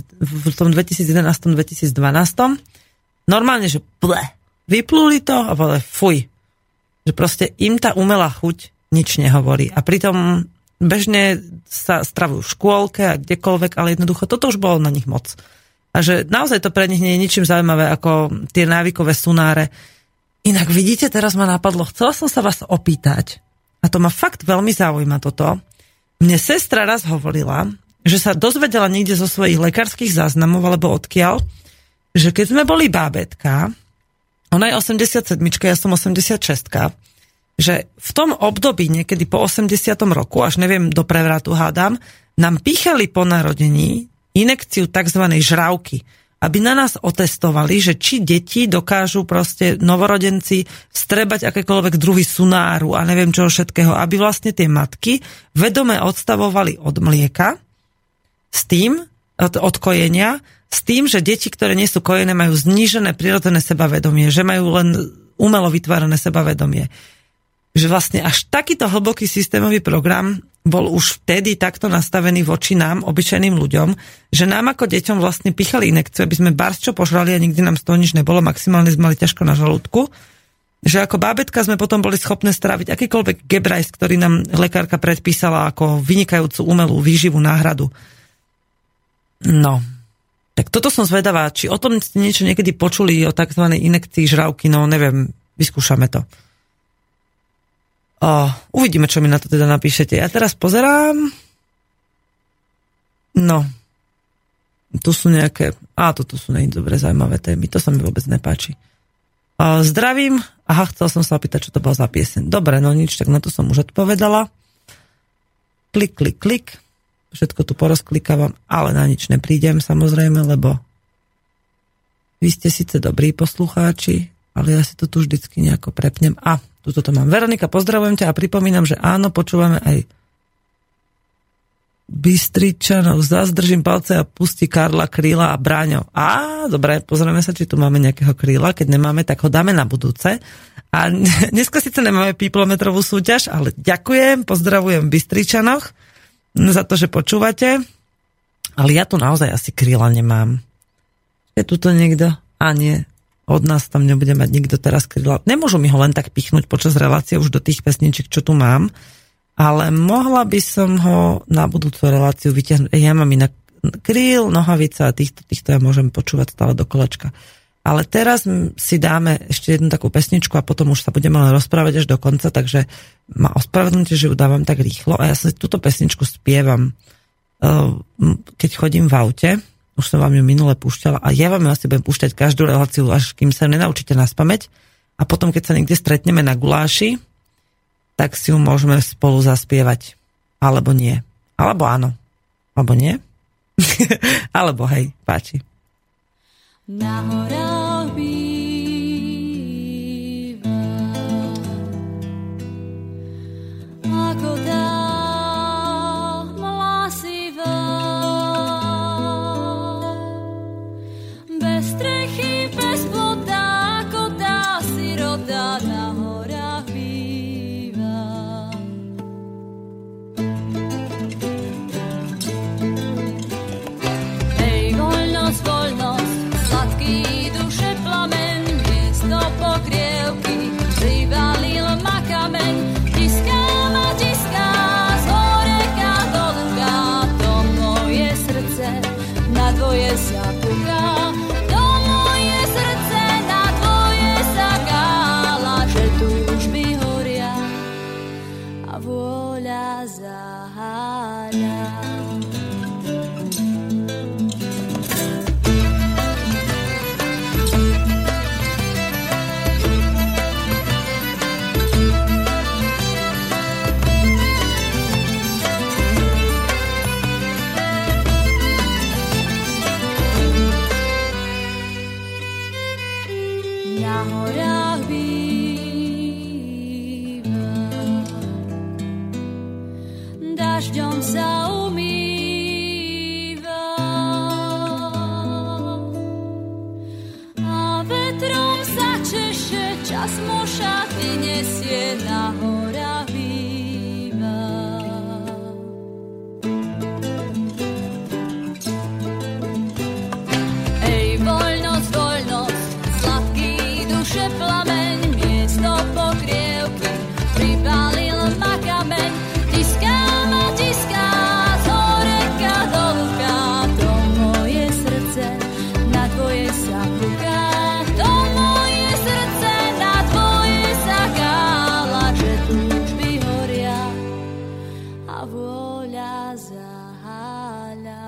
2011-2012, normálne, že vypluli to a povedali fuj. Že proste im tá umelá chuť nič nehovorí. A pritom bežne sa stravujú v škôlke a kdekoľvek, ale jednoducho toto už bolo na nich moc. A že naozaj to pre nich nie je ničím zaujímavé ako tie návykové sunáre. Inak vidíte, teraz ma napadlo, chcela som sa vás opýtať, a to ma fakt veľmi zaujíma toto. Mne sestra raz hovorila, že sa dozvedela niekde zo svojich lekárskych záznamov, alebo odkiaľ, že keď sme boli bábätka, ona je 87, ja som 86, že v tom období, niekedy po 80. roku, až neviem, do prevratu hádam, nám píchali po narodení inekciu tzv. Žravky, aby na nás otestovali, že či deti dokážu proste novorodenci vstrebať akékoľvek druhy sunáru a neviem čoho všetkého, aby vlastne tie matky vedome odstavovali od mlieka s tým, od kojenia, s tým, že deti, ktoré nie sú kojené, majú znížené prirodzené sebavedomie, že majú len umelo vytvárané sebavedomie. Že vlastne až takýto hlboký systémový program bol už vtedy takto nastavený voči nám, obyčajným ľuďom, že nám ako deťom vlastne pichali inekciu, aby sme barčo požrali a nikdy nám z toho nič nebolo, maximálne sme mali ťažko na žalúdku. Že ako bábätka sme potom boli schopné stráviť akýkoľvek gebrajs, ktorý nám lekárka predpísala ako vynikajúcu umelú výživu náhradu. No, tak toto som zvedavá, či o tom ste niečo niekedy počuli o tzv. Inekcii žravky, no neviem, vyskúšame to. Uvidíme, čo mi na to teda napíšete. Ja teraz pozerám. No. Tu sú nejaké... toto sú dobre zaujímavé témy. To sa mi vôbec nepáči. Zdravím. Aha, chcel som sa opýtať, čo to bolo za pieseň. Dobre, no nič, tak na to som už odpovedala. Klik, klik, klik. Všetko tu porozklikávam, ale na nič neprídem, samozrejme, lebo vy ste síce dobrí poslucháči, ale ja si to tu vždycky nejako prepnem. Tuto to mám. Veronika, pozdravujem ťa a pripomínam, že áno, počúvame aj Bystričanov. Zazdržím palce a pustí Karla, Kríla a Bráňo. Dobre, pozrieme sa, či tu máme nejakého Kríla. Keď nemáme, tak ho dáme na budúce. A dneska síce nemáme píplometrovú súťaž, ale ďakujem, pozdravujem v Bystričanoch. za to, že počúvate. Ale ja tu naozaj asi kríla nemám. Je tu to niekto? A nie. Od nás tam nebude mať nikto teraz kríla. Nemôžu mi ho len tak pichnúť počas relácie už do tých pesničiek, čo tu mám. Ale mohla by som ho na budúcu reláciu vyťahnuť. Ja mám inak kríl, nohavica a týchto ja môžem počúvať stále do kolečka. Ale teraz si dáme ešte jednu takú pesničku a potom už sa budeme len rozprávať až do konca, takže ma ospravedlňte, že ju dávam tak rýchlo a ja sa túto pesničku spievam, keď chodím v aute. Už som vám ju minule púšťala a ja vám ju asi budem púšťať každú reláciu, až kým sa nenaučíte naspamäť a potom, keď sa niekde stretneme na guláši, tak si ju môžeme spolu zaspievať. Alebo nie. Alebo áno. Alebo nie. Alebo hej, páči. Na horách býva ako tá mlasivá, bez strechy, bez plota, ako tá sirota na horách býva. Hej, voľnosť, voľnosť, sladký duše plamen, miesto pokrievky, privalil ma kameň, tiskám a tiská, z horeka do luka, to moje srdce na tvoje sa puká, to moje srdce na tvoje sa kála, že túžby horia a vôľa zaháľa. Na horách býva, dažďom sa umýva a vetrom sa češe, čas mu šaty nesie. Na horách býva. Ej, voľnosť, voľnosť, sladký duše plameň, miesto pokrievky, pribalil ma kameň, tiskám a tiská, z horeka do luka, to moje srdce na tvoje sa puká, to moje srdce na tvoje sa kála, že túžby horia a vôľa zaháľa.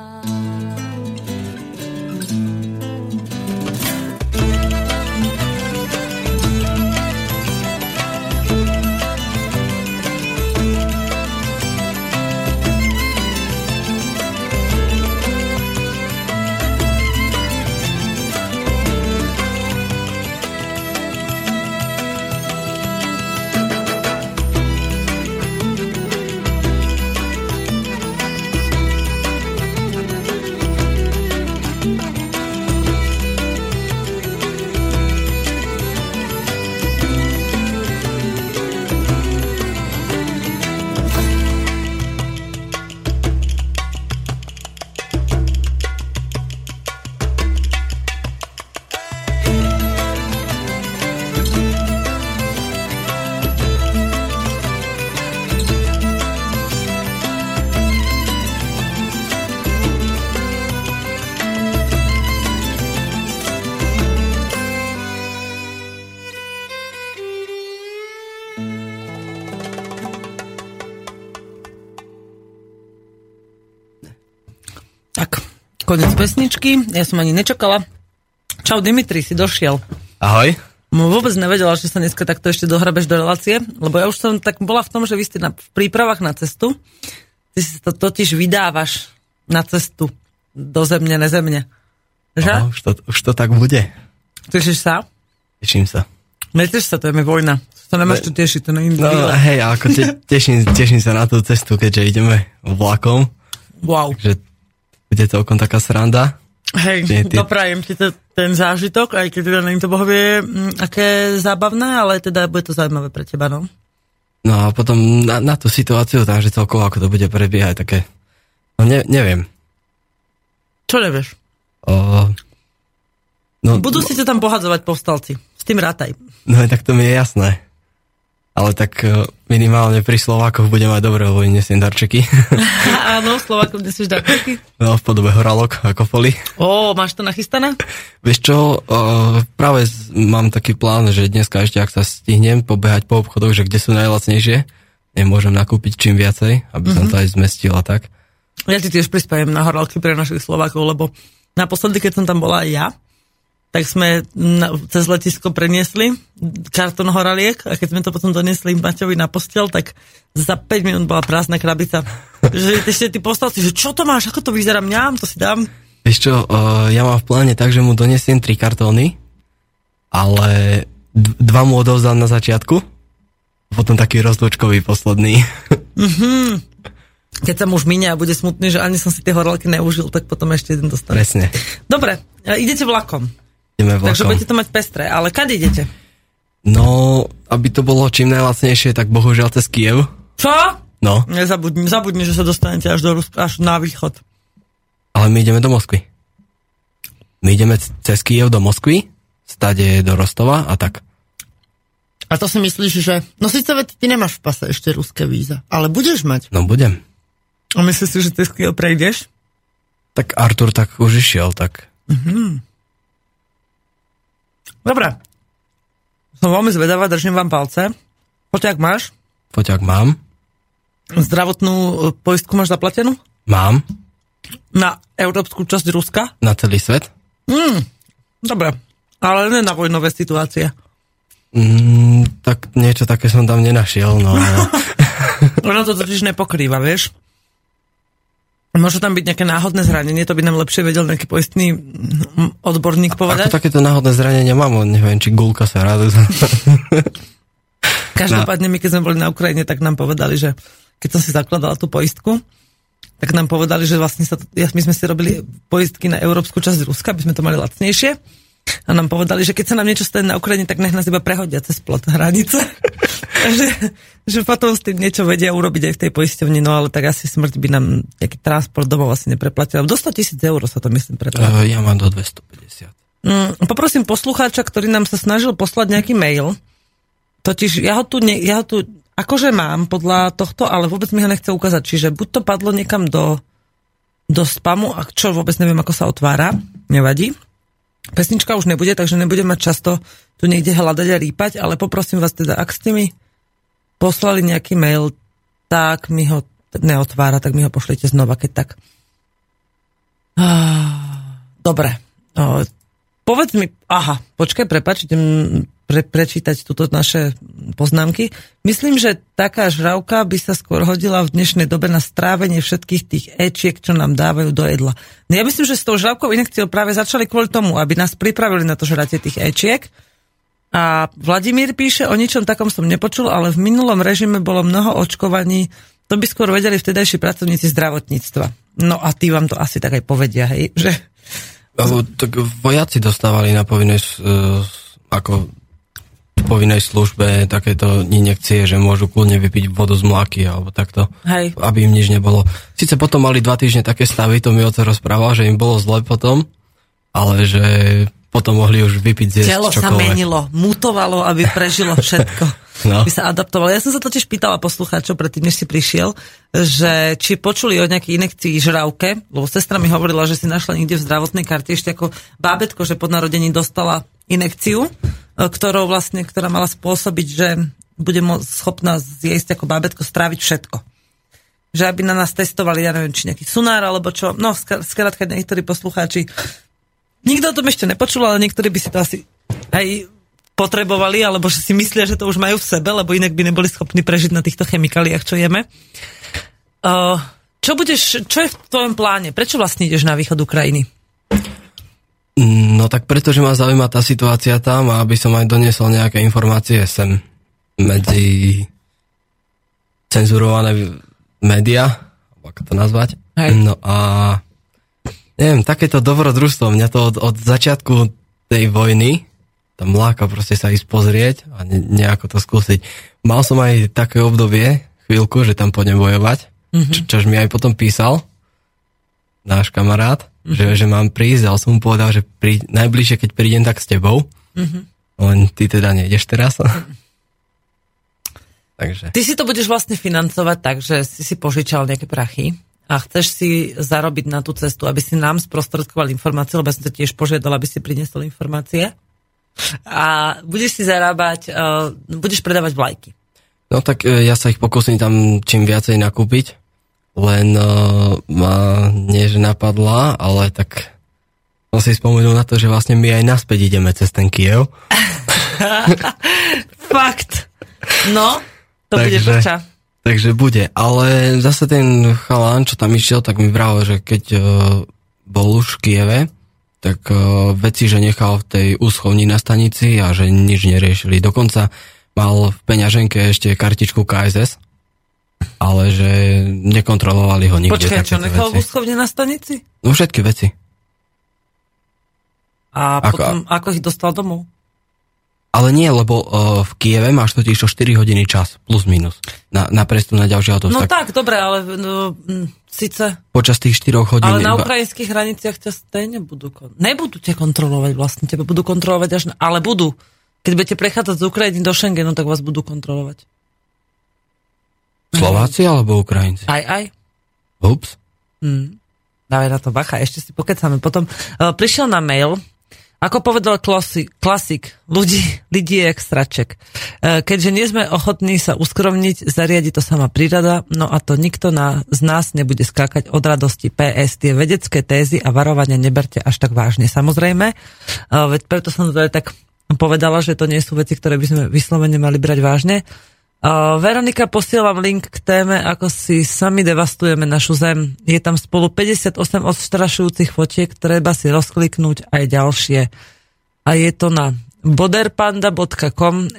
Tak, konec pesničky. Ja som ani nečakala. Čau, Dimitri, si došiel. Ahoj. Vôbec nevedela, že sa dneska takto ešte dohrabeš do relácie, lebo ja už som tak bola v tom, že vy ste v prípravách na cestu. Ty si to totiž vydávaš na cestu do zemne, nezemne. Že? Už to tak bude. Tešíš sa? Teším sa. Neteš sa, to je mi vojna. To nemáš čo tešiť, to neviem. No hej, ako teším sa na tú cestu, keďže ideme vlakom. Wow. Takže bude to okom taká sranda. Hej, doprajem ti ten zážitok, aj keď teda neviem to bohovie, aké zábavné, ale teda bude to zaujímavé pre teba, no. No a potom na tú situáciu, takže celkovo ako to bude prebiehať, také No neviem. Čo nevieš? Budú si ťa tam pohadzovať povstalci. S tým rátaj. No tak to mi je jasné. Ale tak minimálne pri Slovákoch bude mať dobre, lebo nesiem darčeky. Áno, Slovákom nesieš darčeky? No, v podobe horálok ako foli. Máš to nachystané? Vieš čo, práve mám taký plán, že dneska ešte, ak sa stihnem pobehať po obchodoch, že kde sú najlacnejšie, nemôžem nakúpiť čím viacej, aby som to aj zmestil a tak. Ja ti tiež prispájem na horálky pre našich Slovákov, lebo naposledy, keď som tam bola aj ja, tak sme cez letisko preniesli kartón horaliek a keď sme to potom doniesli Maťovi na posteľ, tak za 5 minút bola prázdna krabica. Že ešte tí povstalci, že čo to máš, ako to vyzerá, mňam, to si dám. Vieš čo, ja mám v pláne tak, že mu donesiem 3 kartóny, ale 2 mu odovzdám na začiatku, potom taký rozlúčkový posledný. Keď sa muž minie a bude smutný, že ani som si tie horálky neužil, tak potom ešte jeden dostane. Presne. Dobre, idete vlakom. Takže budete to mať pestré, ale kade idete? No, aby to bolo čím najlacnejšie, tak bohužiaľ cez Kyjev. Čo? No. Zabudni, že sa dostanete až do Ruska, až na východ. Ale my ideme do Moskvy. My ideme cez Kyjev do Moskvy, stade do Rostova a tak. A to si myslíš, že... No síce ty nemáš v pase ešte ruské víza, ale budeš mať. No budem. A myslíš si, že cez Kyjev prejdeš? Tak Artur tak už išiel, tak... Dobre. Som veľmi zvedavá, držím vám palce. Foťák máš? Foťák mám. Zdravotnú poistku máš zaplatenú? Mám. Na európsku časť Ruska? Na celý svet? Dobre. Ale ne na vojnové situácie. Tak niečo také som tam nenašiel, no. Ono to totiž nepokrýva, vieš? Môže tam byť nejaké náhodné zranenie, to by nám lepšie vedel nejaký poistný odborník povedať. Ako takéto náhodné zranenie mám, neviem, či gulka sa rádu. Každopádne my, keď sme boli na Ukrajine, tak nám povedali, že keď som si zakladala tú poistku, tak nám povedali, že vlastne my sme si robili poistky na európsku časť Ruska, aby sme to mali lacnejšie. A nám povedali, že keď sa nám niečo stane na Ukrajine, tak nech nás iba prehodia cez plot hranice. že potom s tým niečo vedia urobiť aj v tej poisťovni, no ale tak asi smrť by nám nejaký transport domov asi nepreplatila. Do 100 000 eur sa to myslím preplatilo. Ja mám do 250. Poprosím poslucháča, ktorý nám sa snažil poslať nejaký mail. Totiž ja ho tu akože mám podľa tohto, ale vôbec mi ho nechce ukázať. Čiže buď to padlo niekam do spamu, a čo vôbec neviem, ako sa otvára. Nevadí. Pesnička už nebude, takže nebudem mať často tu niekde hľadať a rýpať, ale poprosím vás teda, ak ste mi poslali nejaký mail, tak mi ho neotvára, tak mi ho pošlite znova, keď tak. Dobre. Povedz mi, počkaj, prepáč, idem prečítať túto naše poznámky. Myslím, že taká žravka by sa skôr hodila v dnešnej dobe na strávenie všetkých tých éčiek, čo nám dávajú do jedla. No ja myslím, že s tou žravkou injekciou práve začali kvôli tomu, aby nás pripravili na to žratie tých éčiek. A Vladimír píše, o ničom takom som nepočul, ale v minulom režime bolo mnoho očkovaní, to by skôr vedeli vtedajší pracovníci zdravotníctva. No a tí vám to asi tak aj povedia, hej? Že... Tak vojaci dostávali na povinnej povinnej službe takéto injekcie, že môžu kľudne vypiť vodu z mláky alebo takto, hej, aby im nič nebolo. Sice potom mali 2 týždne také stavy, to mi oco rozprával, že im bolo zle potom, ale že potom mohli už vypiť zjesť čokoľvek. Telo sa menilo, mutovalo, aby prežilo všetko. No. By sa adaptovalo. Ja som sa totiž pýtala poslucháčov predtým, než si prišiel, že či počuli o nejakej injekcii žravke, lebo sestra mi hovorila, že si našla niekde v zdravotnej karte ešte ako bábätko, že po narodení dostala injekciu, ktorá mala spôsobiť, že bude schopná zjesť ako bábätko, stráviť všetko. Že aby na nás testovali, ja neviem, či nejaký sunár, alebo čo. No, skrátka niektorí poslucháči. Nikto o tom ešte nepočul, ale niektorí by si to asi aj potrebovali, alebo že si myslia, že to už majú v sebe, lebo inak by neboli schopní prežiť na týchto chemikáliách, čo jeme. Čo je v tvojom pláne? Prečo vlastne ideš na východ Ukrajiny? No tak pretože ma zaujíma tá situácia tam a aby som aj doniesol nejaké informácie sem medzi cenzurované médiá, ako to nazvať. Hej. No a neviem, takéto dobrodružstvo, mňa to od začiatku tej vojny tam láka proste sa ísť pozrieť a nejako to skúsiť. Mal som aj také obdobie, chvíľku, že tam pôjdem bojovať, čož mi aj potom písal, náš kamarát, že mám prísť, ale som mu povedal, že najbližšie, keď prídem, tak s tebou. Len ty teda nejdeš teraz. Takže. Ty si to budeš vlastne financovať tak, že si požičal nejaké prachy a chceš si zarobiť na tú cestu, aby si nám sprostredkoval informácie, lebo som sa tiež požiadal, aby si priniesol informácie. A budeš si zarábať, budeš predávať vlajky. No tak ja sa ich pokúsim tam čím viacej nakúpiť, len ma nie, že napadla, ale tak som si spomenul na to, že vlastne my aj naspäť ideme cez ten Kyjev. Fakt. No, to bude poča. Takže bude, ale zase ten chalán, čo tam išiel, tak mi vravel, že keď bol už v Kyjeve, tak veci, že nechal v tej úschovni na stanici a že nič neriešili. Dokonca mal v peňaženke ešte kartičku KSS, ale že nekontrolovali ho nikde. Počkaj, čo nechal v úschovni na stanici? No všetky veci. A potom, ako ich dostal domov? Ale nie, lebo v Kyjeve máš totiž 4 hodiny čas, plus minus, na prestup na ďalší autobus. No tak, dobre, ale síce... Počas tých 4 hodín... Ale na ukrajinských hraniciach ťa stejne nebudú ťa kontrolovať vlastne, teba budú kontrolovať až... Ale budú. Keď budete prechádzať z Ukrajiny do Schengenu, tak vás budú kontrolovať. Slováci alebo Ukrajinci? Aj. Ups. Dávaj na to bacha, ešte si pokecáme. Potom prišiel na mail. Ako povedal klasik, ľudí je jak straček. Keďže nie sme ochotní sa uskromniť, zariadi to sama príroda, no a to nikto z nás nebude skákať od radosti. PS, tie vedecké tézy a varovania neberte až tak vážne. Samozrejme, veď preto som to aj tak povedala, že to nie sú veci, ktoré by sme vyslovene mali brať vážne. Veronika, posielam link k téme, ako si sami devastujeme našu zem. Je tam spolu 58 odstrašujúcich fotiek, treba si rozkliknúť aj ďalšie. A je to na boderpanda.com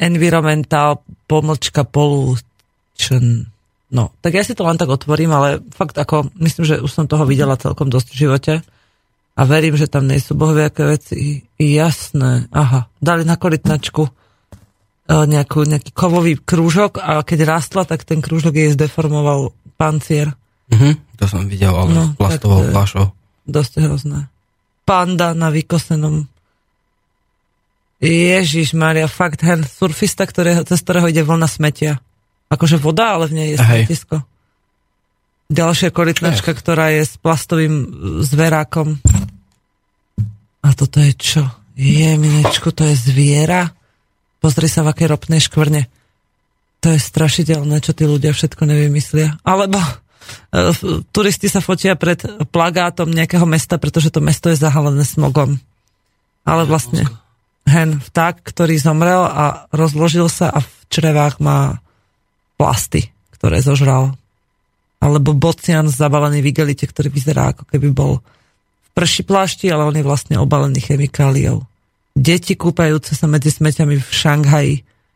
environmental-pollution. No, tak ja si to len tak otvorím, ale fakt ako, myslím, že už som toho videla celkom dosť v živote. A verím, že tam nie sú bohviaké veci. Jasné. Aha, dali na korytnačku nejaký kovový krúžok a keď rástla, tak ten krúžok jej zdeformoval pancier. To som videl, ale plastovou fľašou. Dosť hrozné. Panda na vykosenom. Ježišmária, fakt, hen surfista, cez ktorého ide vlna smetia. Akože voda, ale v nej je smetisko. Ďalšia korytnačka, ktorá je s plastovým zverákom. A toto je čo? Jeminečku, to je zviera? Pozri sa, v akej ropnej škvrne. To je strašidelné, čo tí ľudia všetko nevymyslia. Alebo turisti sa fotia pred plagátom nejakého mesta, pretože to mesto je zahalené smogom. Ale vlastne vták, ktorý zomrel a rozložil sa a v črevách má plasty, ktoré zožral. Alebo bocian zabalený v igelite, ktorý vyzerá ako keby bol v prši plášti, ale on je vlastne obalený chemikáliou. Deti kúpajúce sa medzi smeťami v Šanghaji.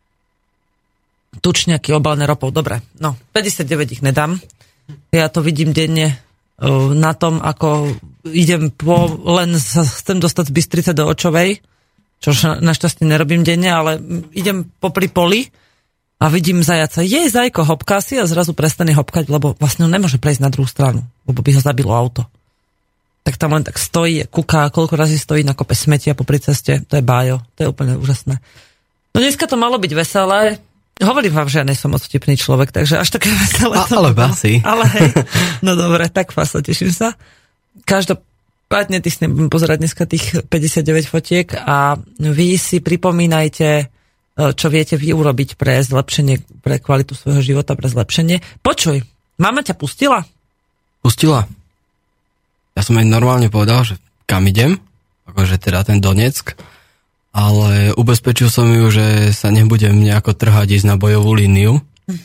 Tučňaky obalené ropou. Dobre, no, 59 ich nedám. Ja to vidím denne na tom, ako idem len sa chcem dostať z Bystrice do Očovej, čo našťastie nerobím denne, ale idem popri poli a vidím zajaca. Zajko, hopká si a zrazu prestane hopkať, lebo vlastne on nemôže prejsť na druhú stranu, lebo by ho zabilo auto. Tak tam len tak stojí, kúka, koľko razy stojí na kope smetia popri ceste. To je bájo, to je úplne úžasné. No dneska to malo byť veselé. Hovorím vám, že ja nie som moc vtipný človek, takže až také veselé. Ale basi. Ale hej, no dobre, tak vás teším sa. Každopádne ty si nebudem pozerať dneska tých 59 fotiek a vy si pripomínajte, čo viete vy urobiť pre zlepšenie, pre kvalitu svojho života, pre zlepšenie. Počuj, mama ťa pustila? Pustila. Ja som aj normálne povedal, že kam idem, akože teda ten Donetsk, ale ubezpečil som ju, že sa nebudem nejako trhať ísť na bojovú líniu.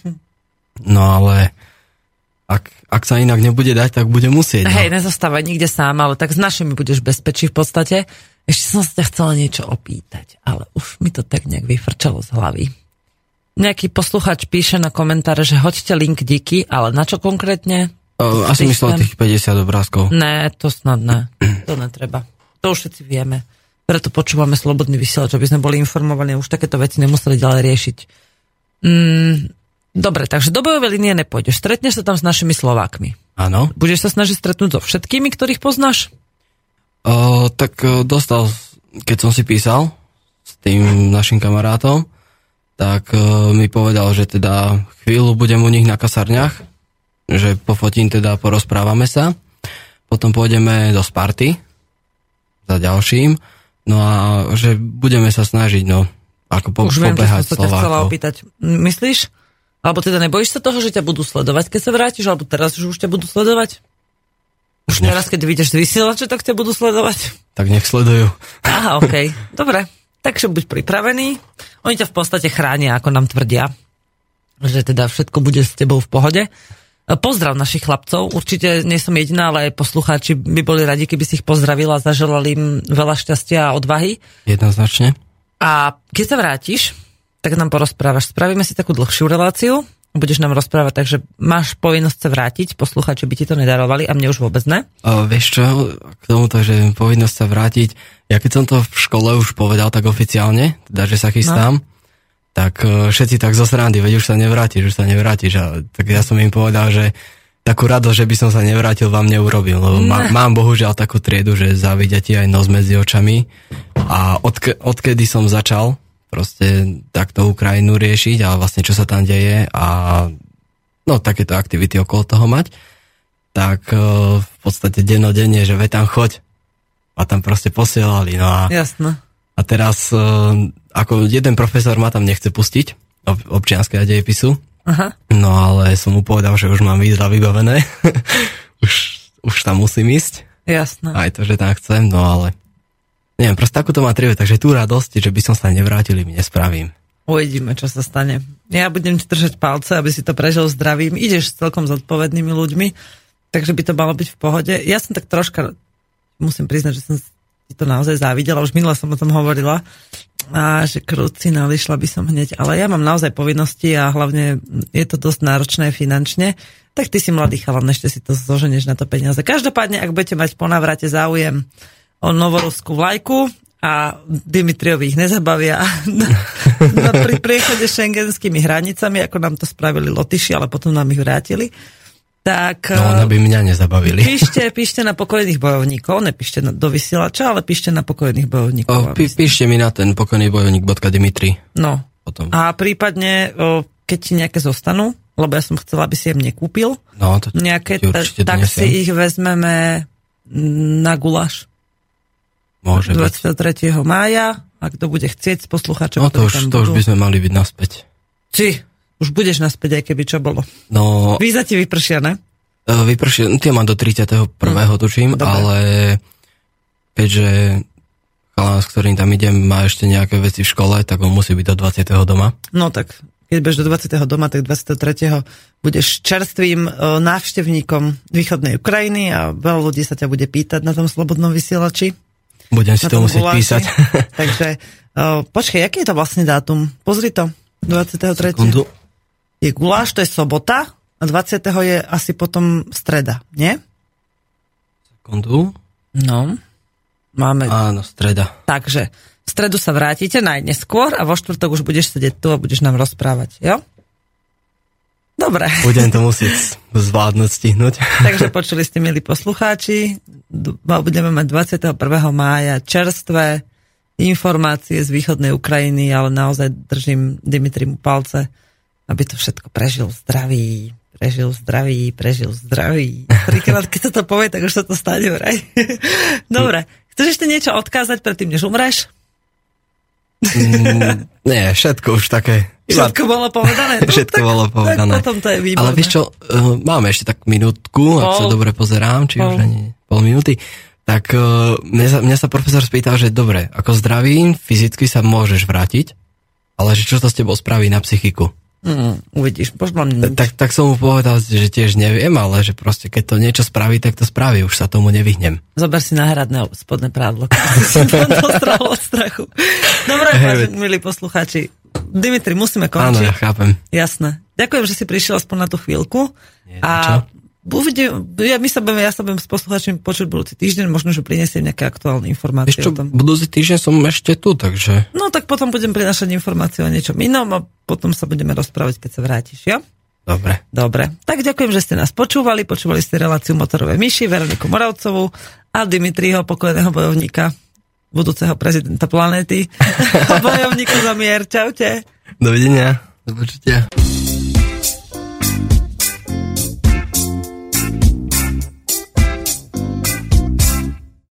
No ale ak sa inak nebude dať, tak bude musieť. No. Hej, nezostávaj nikde sám, ale tak s našimi budeš bezpečí v podstate. Ešte som sa ťa chcela niečo opýtať, ale už mi to tak nejak vyfrčalo z hlavy. Nejaký posluchač píše na komentáre, že hoďte link díky, ale na čo konkrétne? Asi myslel tých 50 obrázkov. Ne, to snad ne. To netreba. To už všetci vieme. Preto počúvame Slobodný vysielač, aby sme boli informovaní, už takéto veci nemuseli ďalej riešiť. Dobre, takže do bojovej línie nepôjdeš. Stretneš sa tam s našimi Slovákmi. Áno. Budeš sa snažiť stretnúť so všetkými, ktorých poznáš? Dostal, keď som si písal s tým našim kamarátom, tak mi povedal, že teda chvíľu budem u nich na kasarniach, že pofotím teda, porozprávame sa, potom pôjdeme do Sparty za ďalším, no a že budeme sa snažiť, no, ako pobehať Slovákov. Už viem, čo som sa chcela opýtať. Myslíš? Alebo teda nebojíš sa toho, že ťa budú sledovať, keď sa vrátiš, alebo teraz už ťa budú sledovať? Už teraz, keď vidíš z vysielače, tak ťa budú sledovať? Tak nech sledujú. Aha, okej. Dobre. Takže buď pripravený. Oni ťa v podstate chránia, ako nám tvrdia. Že teda všetko bude s tebou v pohode. Pozdrav našich chlapcov. Určite nie som jediná, ale aj poslucháči by boli radi, keby si ich pozdravila a zaželali im veľa šťastia a odvahy. Jednoznačne. A keď sa vrátiš, tak nám porozprávaš. Spravíme si takú dlhšiu reláciu. Budeš nám rozprávať, takže máš povinnosť sa vrátiť. Poslucháči by ti to nedarovali a mne už vôbec ne. Vieš čo, k tomuto, že povinnosť sa vrátiť, ja keď som to v škole už povedal tak oficiálne, teda, že sa chystám, tak všetci tak zo srandy, veď už sa nevrátiš. A tak ja som im povedal, že takú radosť, že by som sa nevrátil, vám neurobil. Lebo mám bohužiaľ takú triedu, že závidia ti aj nos medzi očami. A odkedy som začal proste takto Ukrajinu riešiť a vlastne čo sa tam deje a no takéto aktivity okolo toho mať, tak v podstate dennodenne, že veď tam choď a tam proste posielali. No a, jasné. A teraz ako jeden profesor ma tam nechce pustiť občianske a dejepisu, no ale som mu povedal, že už mám výzva vybavené, už tam musím ísť. Jasné. Aj to, že tam chcem, no ale neviem, proste takúto má trivu, takže tú radosť, že by som sa nevrátil, mi nespravím. Uvidíme, čo sa stane. Ja budem ti držať palce, aby si to prežil zdravím. Ideš s celkom zodpovednými ľuďmi, takže by to malo byť v pohode. Ja som tak troška, musím priznať, že som si to naozaj závidela, už minule som o tom hovorila, a že krucinál, išla by som hneď, ale ja mám naozaj povinnosti a hlavne je to dosť náročné finančne, tak ty si mladý chalan, ešte si to zoženieš na to peniaze. Každopádne, ak budete mať po návrate záujem o novoruskú vlajku a Dimitriovi ich nezabavia pri priechode šengenskými hranicami, ako nám to spravili Lotyši, ale potom nám ich vrátili. Tak, no, ono by mňa nezabavili. Píšte na pokojných bojovníkov, nepíšte do vysielača, ale píšte na pokojných bojovníkov. Píšte mi na ten pokojnýbojovník.dimitri. No. Potom. A prípadne, keď ti nejaké zostanú, lebo ja som chcela, aby si im nekúpil, no, to nejaké, tak si ich vezmeme na guláš. Môže 23. mája, a kto bude chcieť z poslucháčov. No to už by sme mali byť naspäť. Už budeš naspäť, aj keby čo bolo. No, víza ti vypršia, ne? Vypršia, tie mám do 31. tuším, dobre. Ale keďže chalán, s ktorým tam idem, má ešte nejaké veci v škole, tak on musí byť do 20. doma. No tak, keď budeš do 20. doma, tak 23. budeš čerstvým návštevníkom východnej Ukrajiny a veľa ľudí sa ťa bude pýtať na tom slobodnom vysielači. Budem si to musieť písať. Takže, počkaj, aký je to vlastne dátum? Pozri to, 23. Sekundu. Je guláš, to je sobota a 20. je asi potom streda, nie? Sekundu. No, máme. Áno, streda. Takže, v stredu sa vrátite najneskôr a vo štvrtok už budeš sedieť tu a budeš nám rozprávať, jo? Dobre. Budem to musieť zvládnuť, stihnúť. Takže počuli ste, milí poslucháči, budeme mať 21. mája čerstvé informácie z východnej Ukrajiny, ale naozaj držím Dimitrimu palce, aby to všetko prežil zdravý. Trikrát, keď sa to povie, tak už sa to stane vraj. Dobre. Chceš ešte niečo odkázať predtým, než umreš? Nie, všetko už také. Všetko bolo povedané. Všetko bolo povedané. Tak potom to je výborné. Ale vieš čo, máme ešte tak minútku, ak sa dobre pozerám, či už ani pol minúty. Tak mňa sa profesor spýtal, že dobre, ako zdravý, fyzicky sa môžeš vrátiť, ale že čo to s tebou spraví na psychiku? Uvidíš, možno tak som mu povedal, že tiež neviem, ale že proste keď to niečo spraví, tak to spraví, už sa tomu nevyhnem. Zober si náhradné spodné prádlo, keď si to dostrahol od strachu. Dobre, milí poslucháči, Dimitri, musíme končiť. Áno, ja chápem. Jasné. Ďakujem, že si prišiel aspoň na tú chvíľku. A ja sa budem s poslucháčmi počuť budúci týždeň, možno, že prinesiem nejaké aktuálne informácie o tom. Budúci týždeň som ešte tu, takže... No tak potom budem prinašať informáciu o niečom inom a potom sa budeme rozprávať, keď sa vrátiš, jo? Dobre. Tak ďakujem, že ste nás počúvali. Počúvali ste reláciu Motorové myši, Veroniku Moravcovú a Dimitriho, pokojného bojovníka, budúceho prezidenta planéty. Bojovníku za mier. Čaute. Dovidenia. Do počutia.